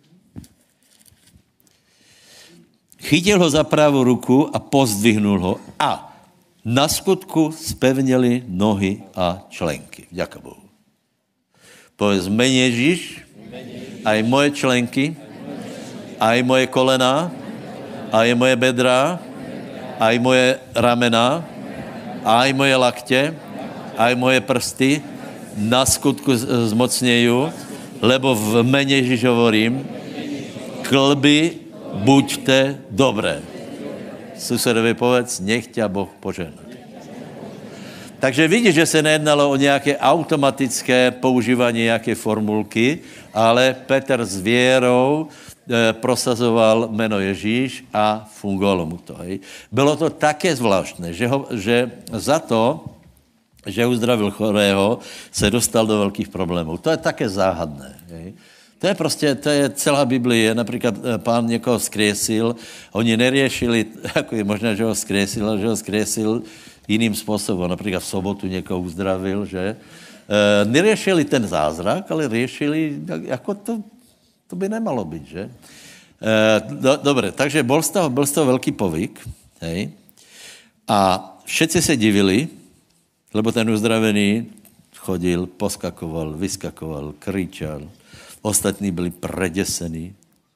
S1: Chytil ho za pravú ruku a pozdvihnul ho a na skutku spevnili nohy a členky. Ďaká Bohu. Povedz, mene Ježíš, aj moje členky, aj moje kolena, aj moje bedra, aj moje ramena, aj moje lakte, aj moje prsty na skutku zmocnejú, lebo v mene Ježíš hovorím, klby buďte dobré. Susedovi povedz, nech ťa Boh požehná. Takže vidíš, že se nejednalo o nějaké automatické používání nějaké formulky, ale Petr s vierou prosazoval jméno Ježíš a fungovalo mu to. Hej. Bylo to také zvláštné, že za to, že uzdravil chorého, se dostal do velkých problémů. To je také záhadné. Hej. To je celá Biblie. Například pán někoho skriesil, oni neriešili, jako je možné, že ho skriesil, ale že ho skriesil jiným způsobem. Například v sobotu někoho uzdravil, že? Neriešili ten zázrak, ale riešili, jako to by nemalo být, že? Dobre, takže byl z toho velký povyk, hej? A všetci se divili, lebo ten uzdravený chodil, poskakoval, vyskakoval, kričal. Ostatní byli predesení.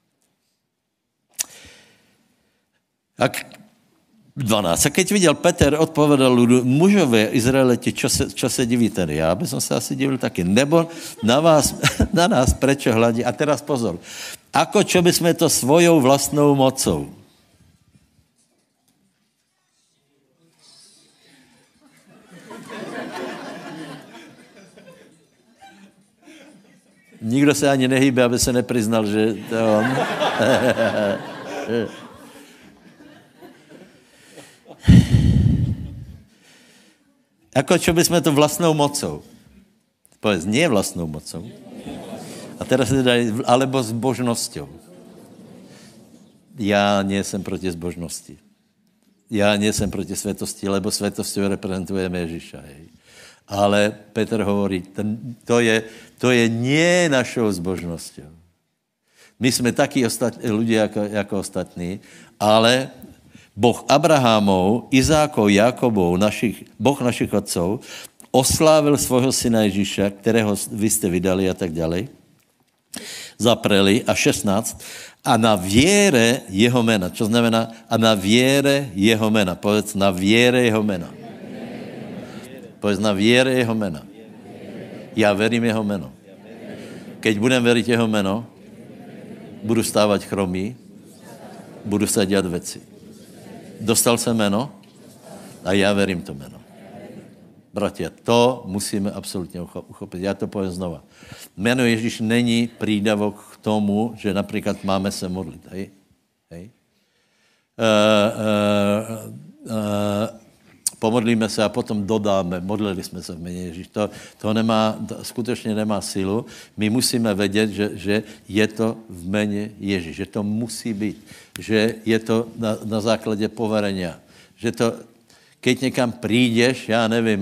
S1: 12. A keď viděl Peter, odpovedal ľudu, mužové Izraeliti, čo se divíte? Já by som se asi divil taky. Nebo na nás prečo hladí? A teraz pozor. Ako čo by sme to svojou vlastnou mocou? Nikdo se ani nehýbe, aby se nepriznal, že to je on. Ako čo by sme to vlastnou mocou? Povedz, nie vlastnou mocou. A teraz teda, alebo s božnosťou. Já nejsem proti zbožnosti. Já nejsem proti svetosti, lebo svetosťou reprezentujeme Ježíša. Hej. Ale Petr hovorí, to je nie našou zbožnosťou. My jsme taky ľudia jako ostatní, ale Boh Abrahamov, Izákov, Jakobov, Boh našich otcov, oslávil svojho syna Ježíša, kterého vy jste vydali a tak ďalej, zapreli a 16, a na viere jeho mena. Čo znamená? A na viere jeho mena. Povedz, na viere jeho mena. Povedz, na viere jeho mena. Já verím jeho meno. Keď budem veriť jeho meno, budu stávať chromý, budu sa dělat věci. Dostal jsem jméno a já verím to jméno. Bratia, to musíme absolutně uchopit. Já to povím znova. Jméno Ježíš není prídavok k tomu, že například máme se modlit. Hej? Hej? Pomodlíme se a potom dodáme, modlili jsme se v jméně Ježíš. To skutečně nemá sílu. My musíme vědět, že je to v jméně Ježíš, že to musí být, že je to na základě poverenia, že to, keď někam přijdeš, já nevím,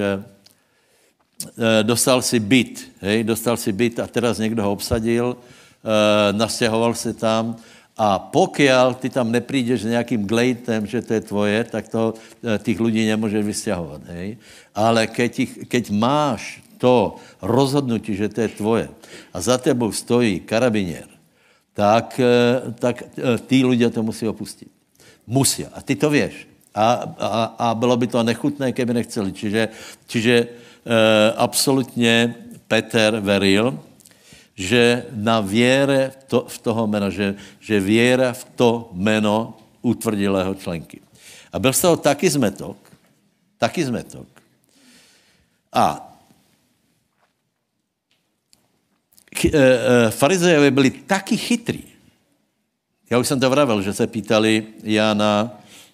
S1: dostal si byt a teraz někdo ho obsadil, nastěhoval se tam, a pokiaľ ty tam neprídeš s nejakým glejtem, že to je tvoje, tak to tých ľudí nemôžeš vysťahovať. Hej? Ale keď máš to rozhodnutí, že to je tvoje a za tebou stojí karabinier, tak tí ľudia to musí opustiť. Musia. A ty to vieš. A bylo by to nechutné, keby nechceli. Čiže absolutně Peter veril, že na věre v toho jména, že věra v to jméno utvrdilého členky. A byl z toho taky zmetok. A farizejové byli taky chytrý. Já už jsem to vravel, že se pýtali Jána,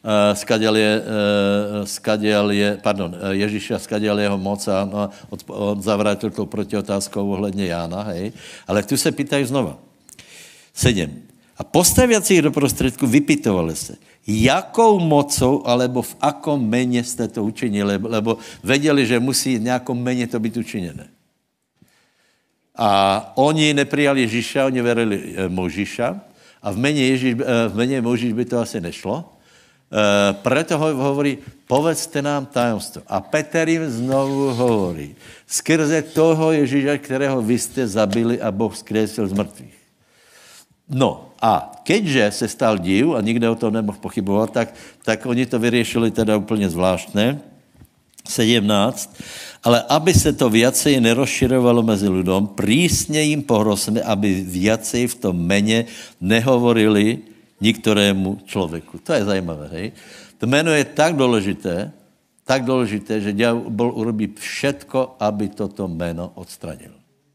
S1: Ježíša, skadiel jeho moc a on zavrátil tou protiotázkou ohledně Jána, hej. Ale tu se pýtají znova. 7. A postaviaci ich do prostředku vypytovali se, jakou mocou, alebo v akom mene jste to učinili, lebo věděli, že musí v nějakom mene to být učiněné. A oni neprijali Ježíša, oni verili Mojžiša a v mene Mojžiš by to asi nešlo. Preto hovorí, povedzte nám tajomstvo. A Peter jim znovu hovorí, skrze toho Ježíša, kterého vy jste zabili a Boh vzkriesil z mrtvých. No a keďže se stal div a nikde o tom nemohl pochybovat, tak oni to vyriešili teda úplně zvláštne. 17. Ale aby se to viacej nerozširovalo mezi ľudom, prísne im pohrozme, aby viacej v tom mene nehovorili niktorému člověku. To je zajímavé, hej? To jméno je tak důležité, že ďábel urobí všetko, aby toto jméno odstranil.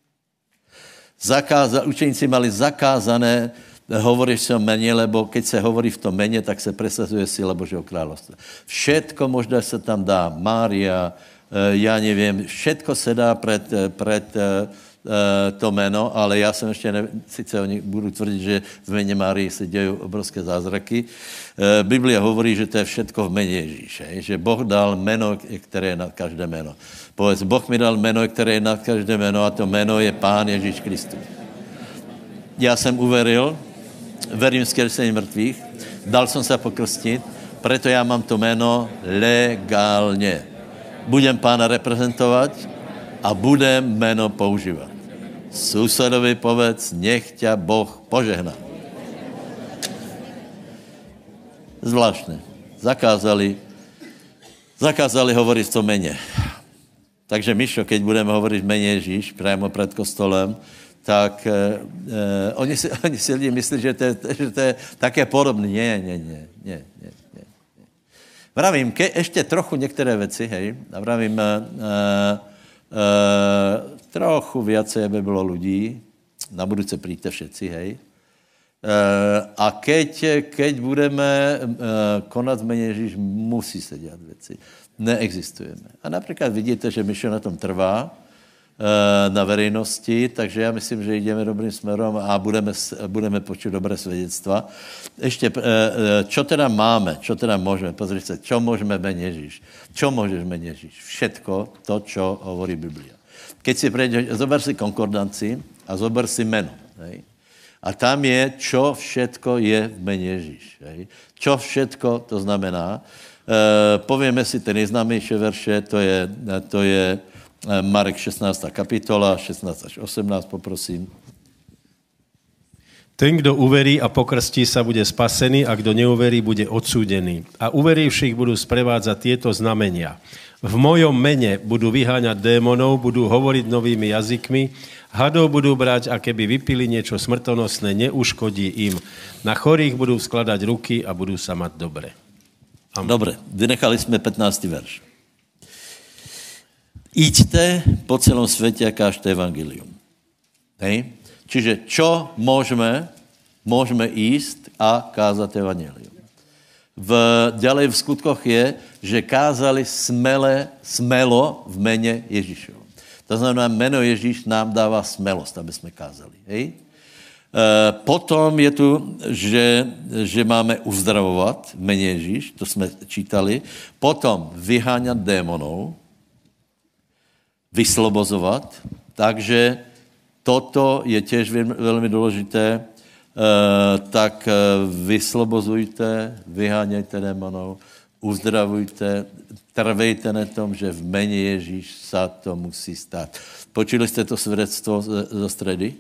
S1: Učeníci mali zakázané hovoriť si o mene, lebo keď se hovorí v tom mene, tak se presazuje sila Božího kráľovstva. Všetko možná se tam dá, Mária, já nevím, všetko se dá pred to jméno, ale já jsem ještě sice oni budu tvrdit, že v jméně Márii se dějí obrovské zázraky. Biblia hovorí, že to je všetko v jméně Ježíše, že Boh dal jméno, které je nad každé jméno. Povedz, Boh mi dal jméno, které je nad každé jméno a to jméno je Pán Ježíš Kristus. Já jsem uveril, verím vzkříšení mrtvých, dal jsem se pokrstit, preto já mám to jméno legálně. Budem Pána reprezentovat a budem jméno používat. Susedovi povedz, nech ťa Boh požehná. Zvláštne. Zakázali hovoriť v tom mene. Takže Mišo, keď budeme hovoriť v mene Ježíš, priamo pred kostolem, tak oni si lidi myslí, že to je také podobné. Nie. Vravím, ešte trochu niektoré veci, hej, a vravím, trochu viacej, aby bylo ľudí, na budúce príďte všetci, hej. A keď budeme konať v mene Ježíš, musí se dělat věci. Neexistujeme. A například vidíte, že Mišo na tom trvá na verejnosti, takže já myslím, že jdeme dobrým směrem a budeme počuť dobré svědectva. Ještě, čo teda máme, čo teda můžeme, pozrite se, čo můžeme v mene Ježíš. Čo můžeš v mene Ježíš? Všetko to, čo hovorí Biblia. Keď si prejdeš, zober si konkordanci a zober si meno. Hej? A tam je, čo všetko je v mene Ježíš. Hej? Čo všetko to znamená. Povieme si ten nejznámější verše, to je Marek 16. kapitola, 16 až 18, poprosím.
S5: Ten, kdo uverí a pokrstí sa, bude spasený a kdo neuverí, bude odsúdený. A uverivších budú sprevádzať tieto znamenia. V mojom mene budú vyháňať démonov, budú hovoriť novými jazykmi, hadov budú brať a keby vypili niečo smrtonosné, neuškodí im. Na chorých budú skladať ruky a budú sa mať dobre.
S1: Dobre, vynechali sme 15. verš. Iďte po celom svete a kážte evangelium. Hej? Čiže čo môžeme? Môžeme ísť a kázať evangelium. Ďalej v skutkoch je, že kázali smelo v mene Ježišovom. To znamená, meno Ježíš nám dáva smelosť, aby sme kázali. Hej? Potom je tu, že máme uzdravovať v mene Ježíš, to sme čítali. Potom vyháňať démonov, vyslobozovať. Takže toto je tiež veľmi dôležité. Tak vyslobozujte, vyháňajte démonov, uzdravujte, trvejte na tom, že v mene Ježíš sa to musí stať. Počuli ste to svedectvo zo stredy?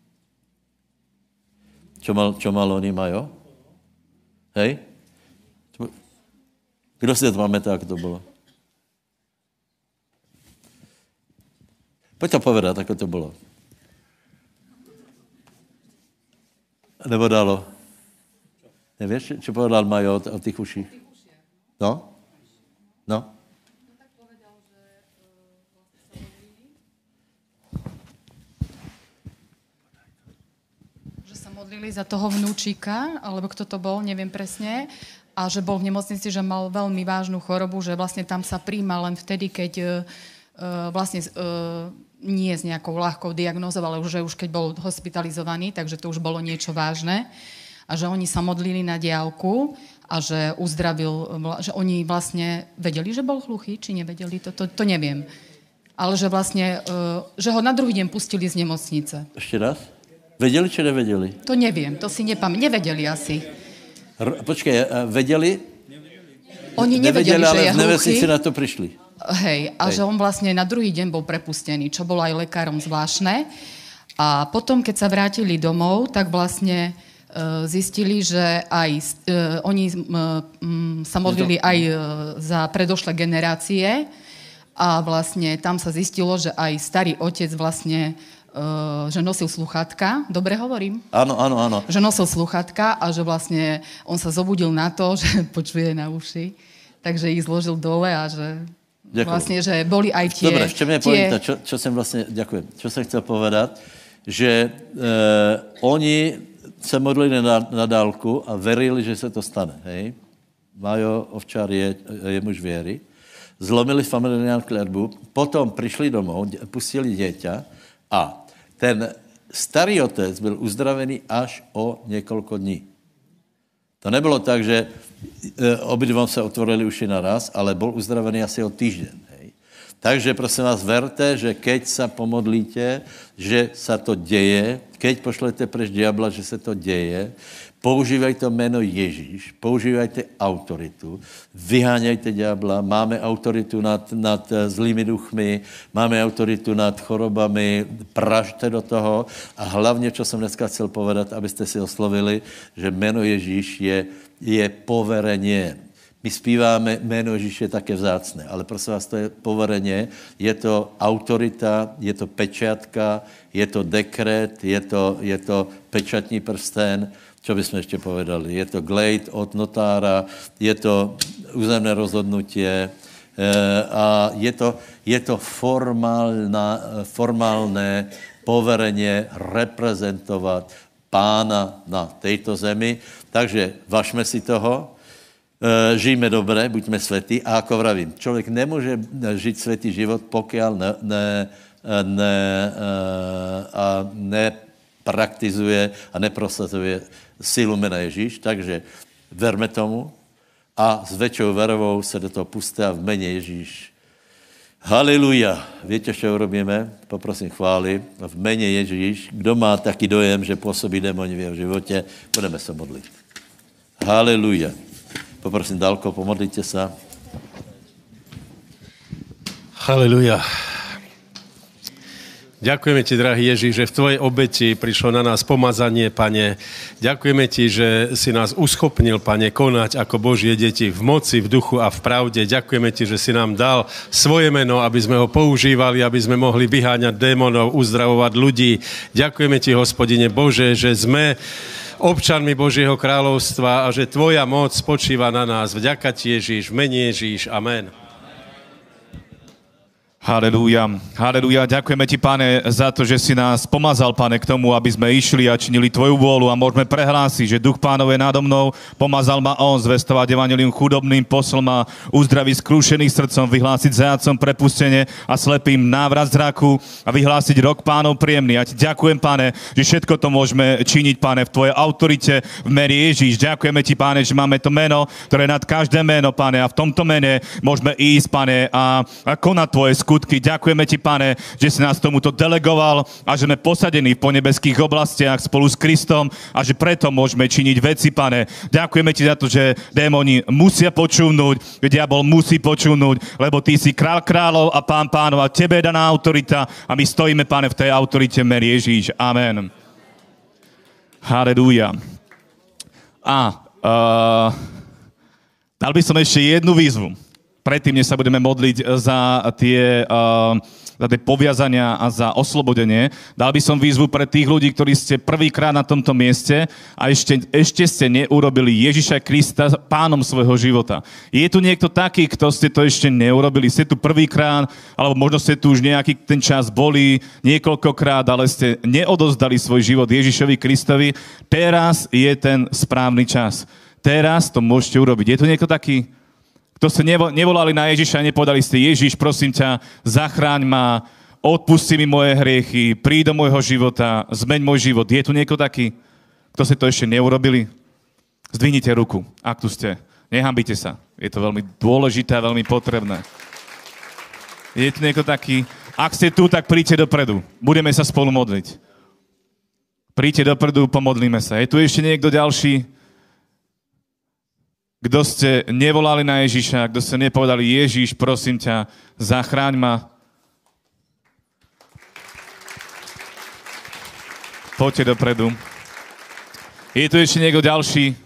S1: Čo mal oni majú? Hej? Kdo si to pamätá, ako to bolo? Poď to povedať, ako to bolo. Nebo dalo? Nevieš, čo povedal Majo o tých uších? No? No?
S6: Modlili za toho vnúčika, alebo kto to bol, neviem presne, a že bol v nemocnici, že mal veľmi vážnu chorobu, že vlastne tam sa príjma len vtedy, keď nie s nejakou ľahkou diagnózou, ale už keď bol hospitalizovaný, takže to už bolo niečo vážne. A že oni sa modlili na diaľku a že uzdravil, že oni vlastne vedeli, že bol hluchý, či nevedeli, to neviem. Ale že vlastne, že ho na druhý deň pustili z nemocnice.
S1: Ešte raz? Vedeli, či nevedeli?
S6: To neviem, to si nepamätám. Nevedeli asi.
S1: Počkaj, vedeli?
S6: Oni nevedeli, že je hluchý. Ale v
S1: nemocnici na to prišli.
S6: Hej, a že on vlastne na druhý deň bol prepustený, čo bolo aj lekárom zvláštne. A potom, keď sa vrátili domov, tak vlastne zistili, že aj oni sa modlili aj za predošlé generácie a vlastne tam sa zistilo, že aj starý otec vlastne že nosil sluchátka. Dobre hovorím?
S1: Áno.
S6: Že nosil sluchátka a že vlastne on sa zobudil na to, že počuje na uši. Takže ich zložil dole a že ďakujem. Vlastne, že boli aj tie...
S1: Dobre, ešte mne povíta, čo som vlastne... Ďakujem. Čo som chcel povedať, že oni sa modlili na dálku a verili, že sa to stane. Hej? Majo Ovčár je muž viery. Zlomili familiárnu kletbu, potom prišli domov, pustili dieťa a ten starý otec byl uzdravený až o niekoľko dní. To nebylo tak, že obidvom sa otvorili uši naraz, ale bol uzdravený asi o týždeň. Hej. Takže prosím vás, verte, že keď sa pomodlíte, že sa to deje, keď pošlete preč diabla, že sa to deje, používajte meno Ježíš, používajte autoritu, vyháňajte diabla, máme autoritu nad zlými duchmi, máme autoritu nad chorobami, pražte do toho a hlavne, čo som dneska chcel povedať, aby ste si oslovili, že meno Ježíš je poverenie. My zpíváme, meno Ježíš je také vzácné, ale prosím vás, to je poverenie, je to autorita, je to pečiatka, je to dekret, je to pečatní prsten. Čo by sme ešte povedali? Je to glejt od notára, je to územné rozhodnutie a je to formálne poverenie reprezentovať Pána na tejto zemi. Takže važme si toho, žijme dobre, buďme svätí a ako vravím, človek nemôže žiť svätý život, pokiaľ nepraktizuje a neprosazuje silu mena Ježíš, takže verme tomu a s väčšou verovou sa do toho pustia v mene Ježíš. Haleluja. Viete, čo urobíme? Poprosím chvály. V mene Ježíš. Kdo má taký dojem, že pôsobí démoni v jeho živote, budeme sa modliť. Haleluja. Poprosím, Dalko, pomodlite sa.
S5: Haleluja. Ďakujeme ti, drahý Ježíš, že v tvojej obeti prišlo na nás pomazanie, Pane. Ďakujeme ti, že si nás uschopnil, Pane, konať ako Božie deti v moci, v duchu a v pravde. Ďakujeme ti, že si nám dal svoje meno, aby sme ho používali, aby sme mohli vyháňať démonov, uzdravovať ľudí. Ďakujeme ti, Hospodine Bože, že sme občanmi Božieho kráľovstva a že tvoja moc spočíva na nás. Vďaka ti, Ježíš, v mene Ježíš. Amen.
S7: Halelúja, halelúja. Ďakujeme ti, Pane, za to, že si nás pomazal, Pane, k tomu, aby sme išli a činili tvoju vôľu a môžeme prehlásiť, že Duch Pánov je nádo mnou, pomazal ma on zvestovať evanjelium chudobným, poslal ma uzdraviť skrúšených srdcom, vyhlásiť zajatcom prepustenie a slepým návrat zraku a vyhlásiť rok Pánov príjemný. Ja ti ďakujem, Pane, že všetko to môžeme činiť, Pane, v tvojej autorite v mene Ježíš. Ďakujeme ti, Pane, že máme to meno, ktoré je nad každé meno, Pane, a v tomto mene môžeme ísť, Pane, a konať tvoje skutky. Ďakujeme ti, Pane, že si nás tomuto delegoval a že sme posadení v ponebeských oblastiach spolu s Kristom a že preto môžeme činiť veci, Pane. Ďakujeme ti za to, že démoni musia počúvnuť, diabol musí počúvnuť, lebo ty si král kráľov a pán pánov a tebe je daná autorita a my stojíme, Pane, v tej autorite v mene Ježíš. Amen. Halelúja. Dal by som ešte jednu výzvu. Predtým, než sa budeme modliť za tie poviazania a za oslobodenie, dal by som výzvu pre tých ľudí, ktorí ste prvýkrát na tomto mieste a ešte ste neurobili Ježiša Krista pánom svojho života. Je tu niekto taký, kto ste to ešte neurobili? Ste tu prvýkrát, alebo možno ste tu už nejaký ten čas boli niekoľkokrát, ale ste neodozdali svoj život Ježišovi Kristovi. Teraz je ten správny čas. Teraz to môžete urobiť. Je tu niekto taký? Kto ste nevolali na Ježiša a nepovedali ste: Ježiš, prosím ťa, zachráň ma, odpusti mi moje hriechy, príď do môjho života, zmeň môj život. Je tu niekto taký? Kto ste to ešte neurobili? Zdvihnite ruku, ak tu ste. Nehambite sa. Je to veľmi dôležité a veľmi potrebné. Je tu niekto taký? Ak ste tu, tak príďte dopredu. Budeme sa spolu modliť. Príďte dopredu, pomodlíme sa. Je tu ešte niekto ďalší? Kto ste nevolali na Ježiša, kto ste nepovedali: Ježiš, prosím ťa, zachráň ma. Poďte dopredu. Je tu ešte niekto ďalší?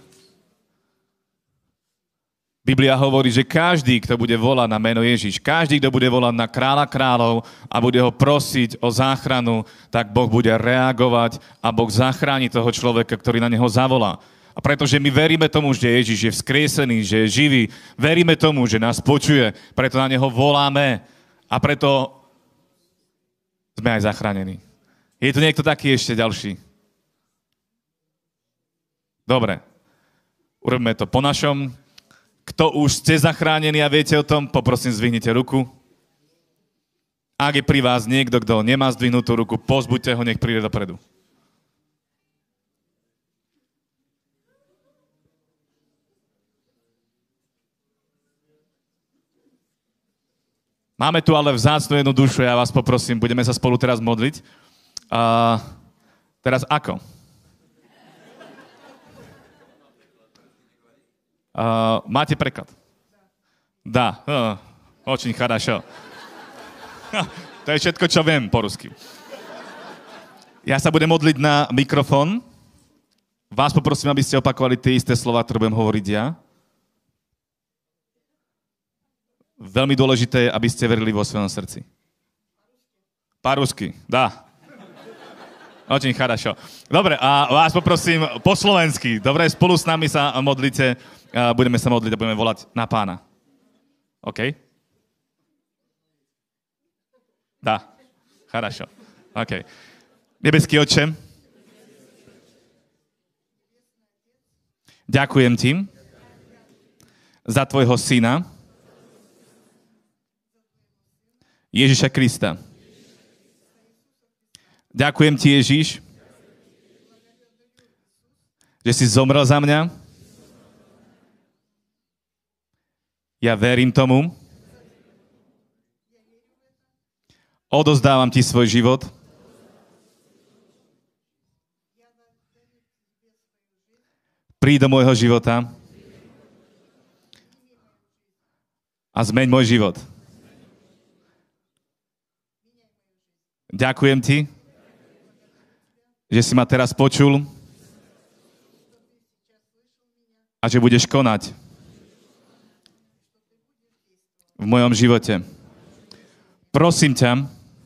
S7: Biblia hovorí, že každý, kto bude volať na meno Ježiš, každý, kto bude volať na kráľa kráľov a bude ho prosiť o záchranu, tak Boh bude reagovať a Boh zachráni toho človeka, ktorý na neho zavolá. A pretože my veríme tomu, že Ježiš je vzkriesený, že je živý, veríme tomu, že nás počuje, preto na neho voláme a preto sme aj zachránení. Je tu niekto taký ešte ďalší? Dobre, urobíme to po našom. Kto už ste zachránení a viete o tom, poprosím, zdvihnite ruku. Ak je pri vás niekto, kto nemá zdvihnutú ruku, pozbuďte ho, nech príde dopredu. Máme tu ale vzácnu jednu dušu, ja vás poprosím, budeme sa spolu teraz modliť. Teraz ako? Máte preklad? Dá. Очень хорошо. To je všetko, čo viem po rusky. Ja sa budem modliť na mikrofón. Vás poprosím, aby ste opakovali tie isté slova, ktoré budem hovoriť ja. Veľmi dôležité je, aby ste verili vo svojom srdci. Po-rusky, dá. Очень хорошо. Dobre, a vás poprosím po slovensky. Dobre, spolu s nami sa modlite. Budeme sa modliť a budeme volať na Pána. OK? Dá. Хорошо. OK. Nebeský Otče, ďakujem ti za tvojho syna, Ježiša Krista. Ďakujem ti, Ježiš, že si zomrel za mňa. Ja verím tomu. Odozdávam ti svoj život. Príď do môjho života a zmeň môj život. Ďakujem ti, že si ma teraz počul a že budeš konať v mojom živote. Prosím ťa,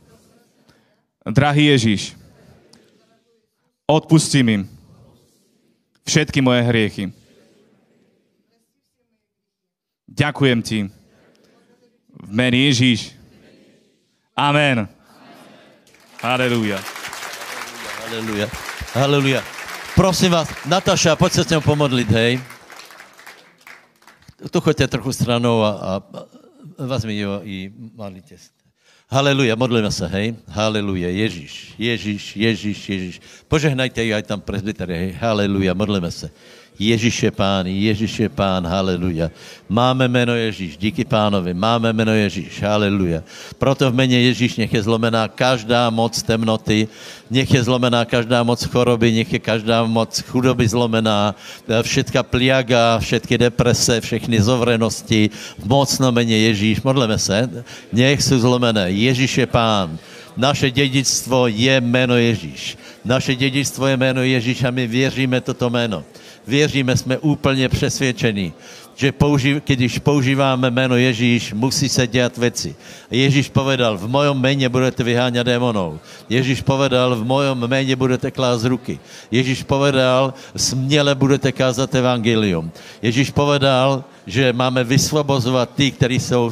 S7: drahý Ježiš, odpusti mi všetky moje hriechy. Ďakujem ti v mene Ježiš. Amen. Halelúja.
S1: Halelúja. Halelúja. Prosím vás, Nataša, poď sa s ňou pomodliť, hej. Tu choďte trochu stranou a vezmi jo i modlite sa. Halelúja, modlíme sa, hej. Halelúja, Ježiš, Ježiš, Ježiš, Ježiš. Požehnajte ju aj tam presbyteri, hej. Halelúja, modlíme sa. Ježiš je Pán, halelúja. Máme meno Ježiš, díky Pánovi, máme meno Ježiš, halelúja. Proto v mene Ježiš nech je zlomená každá moc temnoty, nech je zlomená každá moc choroby, nech je každá moc chudoby zlomená, všetká pliaga, všetky deprese, všechny zovrenosti, v mocnom mene Ježiš, modlíme sa, nech sú zlomené. Ježiš je Pán. Naše dedičstvo je meno Ježiš. Naše dedičstvo je meno Ježiš a my věříme toto meno. Věříme, jsme úplně přesvědčení, že když používáme jméno Ježíš, musí se dělat věci. Ježíš povedal, v mojom jméně budete vyháňat démonov. Ježíš povedal, v mojom jméně budete klást ruky. Ježíš povedal, směle budete kázat evangelium. Ježíš povedal, že máme vysvobozovat ty, kteří jsou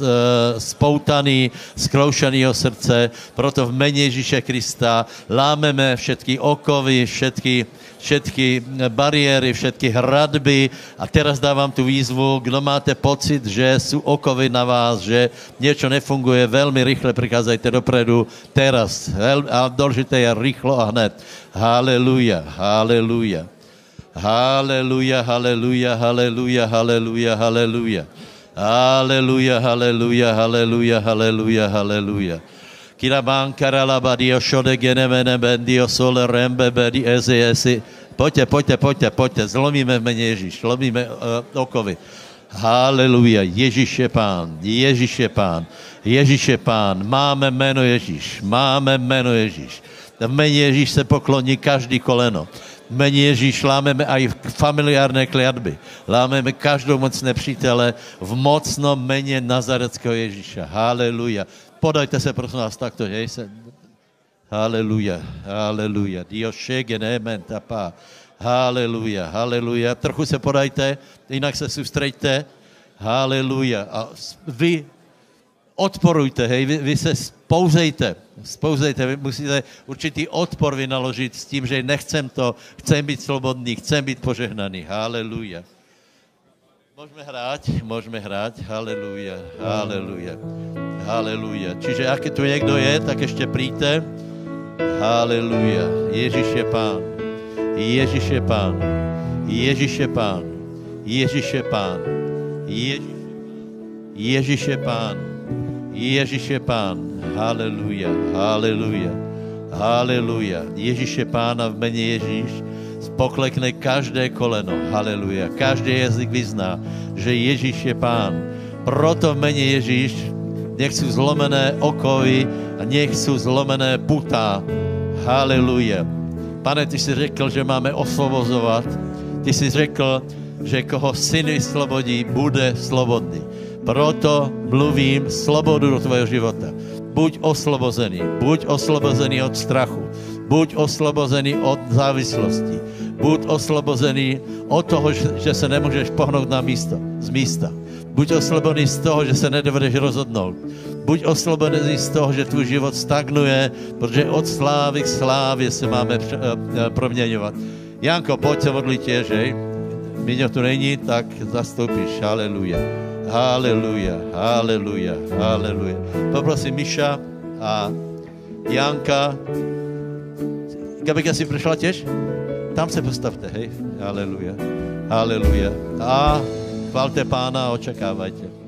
S1: spoutaní, zkroušenýho srdce. Proto v jméně Ježíše Krista lámeme všetky okovy, všetky bariéry, všetky hradby a teraz dávam tu výzvu, kdo máte pocit, že sú okovy na vás, že niečo nefunguje, veľmi rýchle prichádzajte dopredu, teraz, a dôležité je rýchlo a hned. Halelúja, halelúja. Halelúja, halelúja, halelúja, halelúja, halelúja. Halelúja, halelúja, halelúja, halelúja, halelúja. Kirabankara labadio šode genemene bendio sole rembe bedi ezi. Poďte, zlomíme v mene Ježíš, zlomíme okovy. Haleluja, Ježíš je Pán, Ježíš je Pán, Ježíš je Pán, máme meno Ježíš, máme meno Ježíš. V mene Ježíš se pokloní každý koleno. V mene Ježíš lámeme aj familiárne kliatby. Lámeme každou moc nepřítele v mocnom mene Nazareckého Ježíša. Haleluja. Podajte se, prosím vás, takto, hej se. Haleluja, haleluja. Dios šege nementa pá. Haleluja, haleluja. Trochu se podajte, jinak se soustreďte. Haleluja. A vy odporujte, hej, vy se spouzejte, vy musíte určitý odpor vynaložit s tím, že nechcem to, chcem být slobodný, chcem být požehnaný. Haleluja. Môžeme hrať, haleluja, haleluja, haleluja. Čiže ak tu niekto je, tak ešte príďte. Haleluja, Ježiš je Pán, Ježiš je Pán, Ježiš je Pán, Ježiš je Pán, Ježiš je Pán, Ježiš je Pán, haleluja, haleluja, haleluja. Ježiš je Pán a v mene Ježíš poklekne každé koleno, haleluja. Každý jazyk vyzná, že Ježíš je Pán. Proto v mene Ježíš nech sú zlomené okovy a nech sú zlomené putá. Haleluja. Pane, ty si řekl, že máme osvobozovat. Ty si řekl, že koho syn vyslobodí, bude slobodný. Proto mluvím slobodu do tvojho života. Buď oslobozený od strachu. Buď oslobozený od závislosti. Buď oslobozený od toho, že se nemůžeš pohnout z místa. Buď oslobozený z toho, že se nedovedeš rozhodnout. Buď oslobozený z toho, že tvůj život stagnuje, protože od slávy k slávě se máme proměňovat. Janko, pojď se modlit tě, že? Míňo tu není, tak zastoupíš. Haleluja. Haleluja, haleluja, haleluja. Poprosím Miša a Janka. Gabika si přišla těž? Tam se postavte, hej. Haleluja, haleluja. A chválte Pána a očekávajte.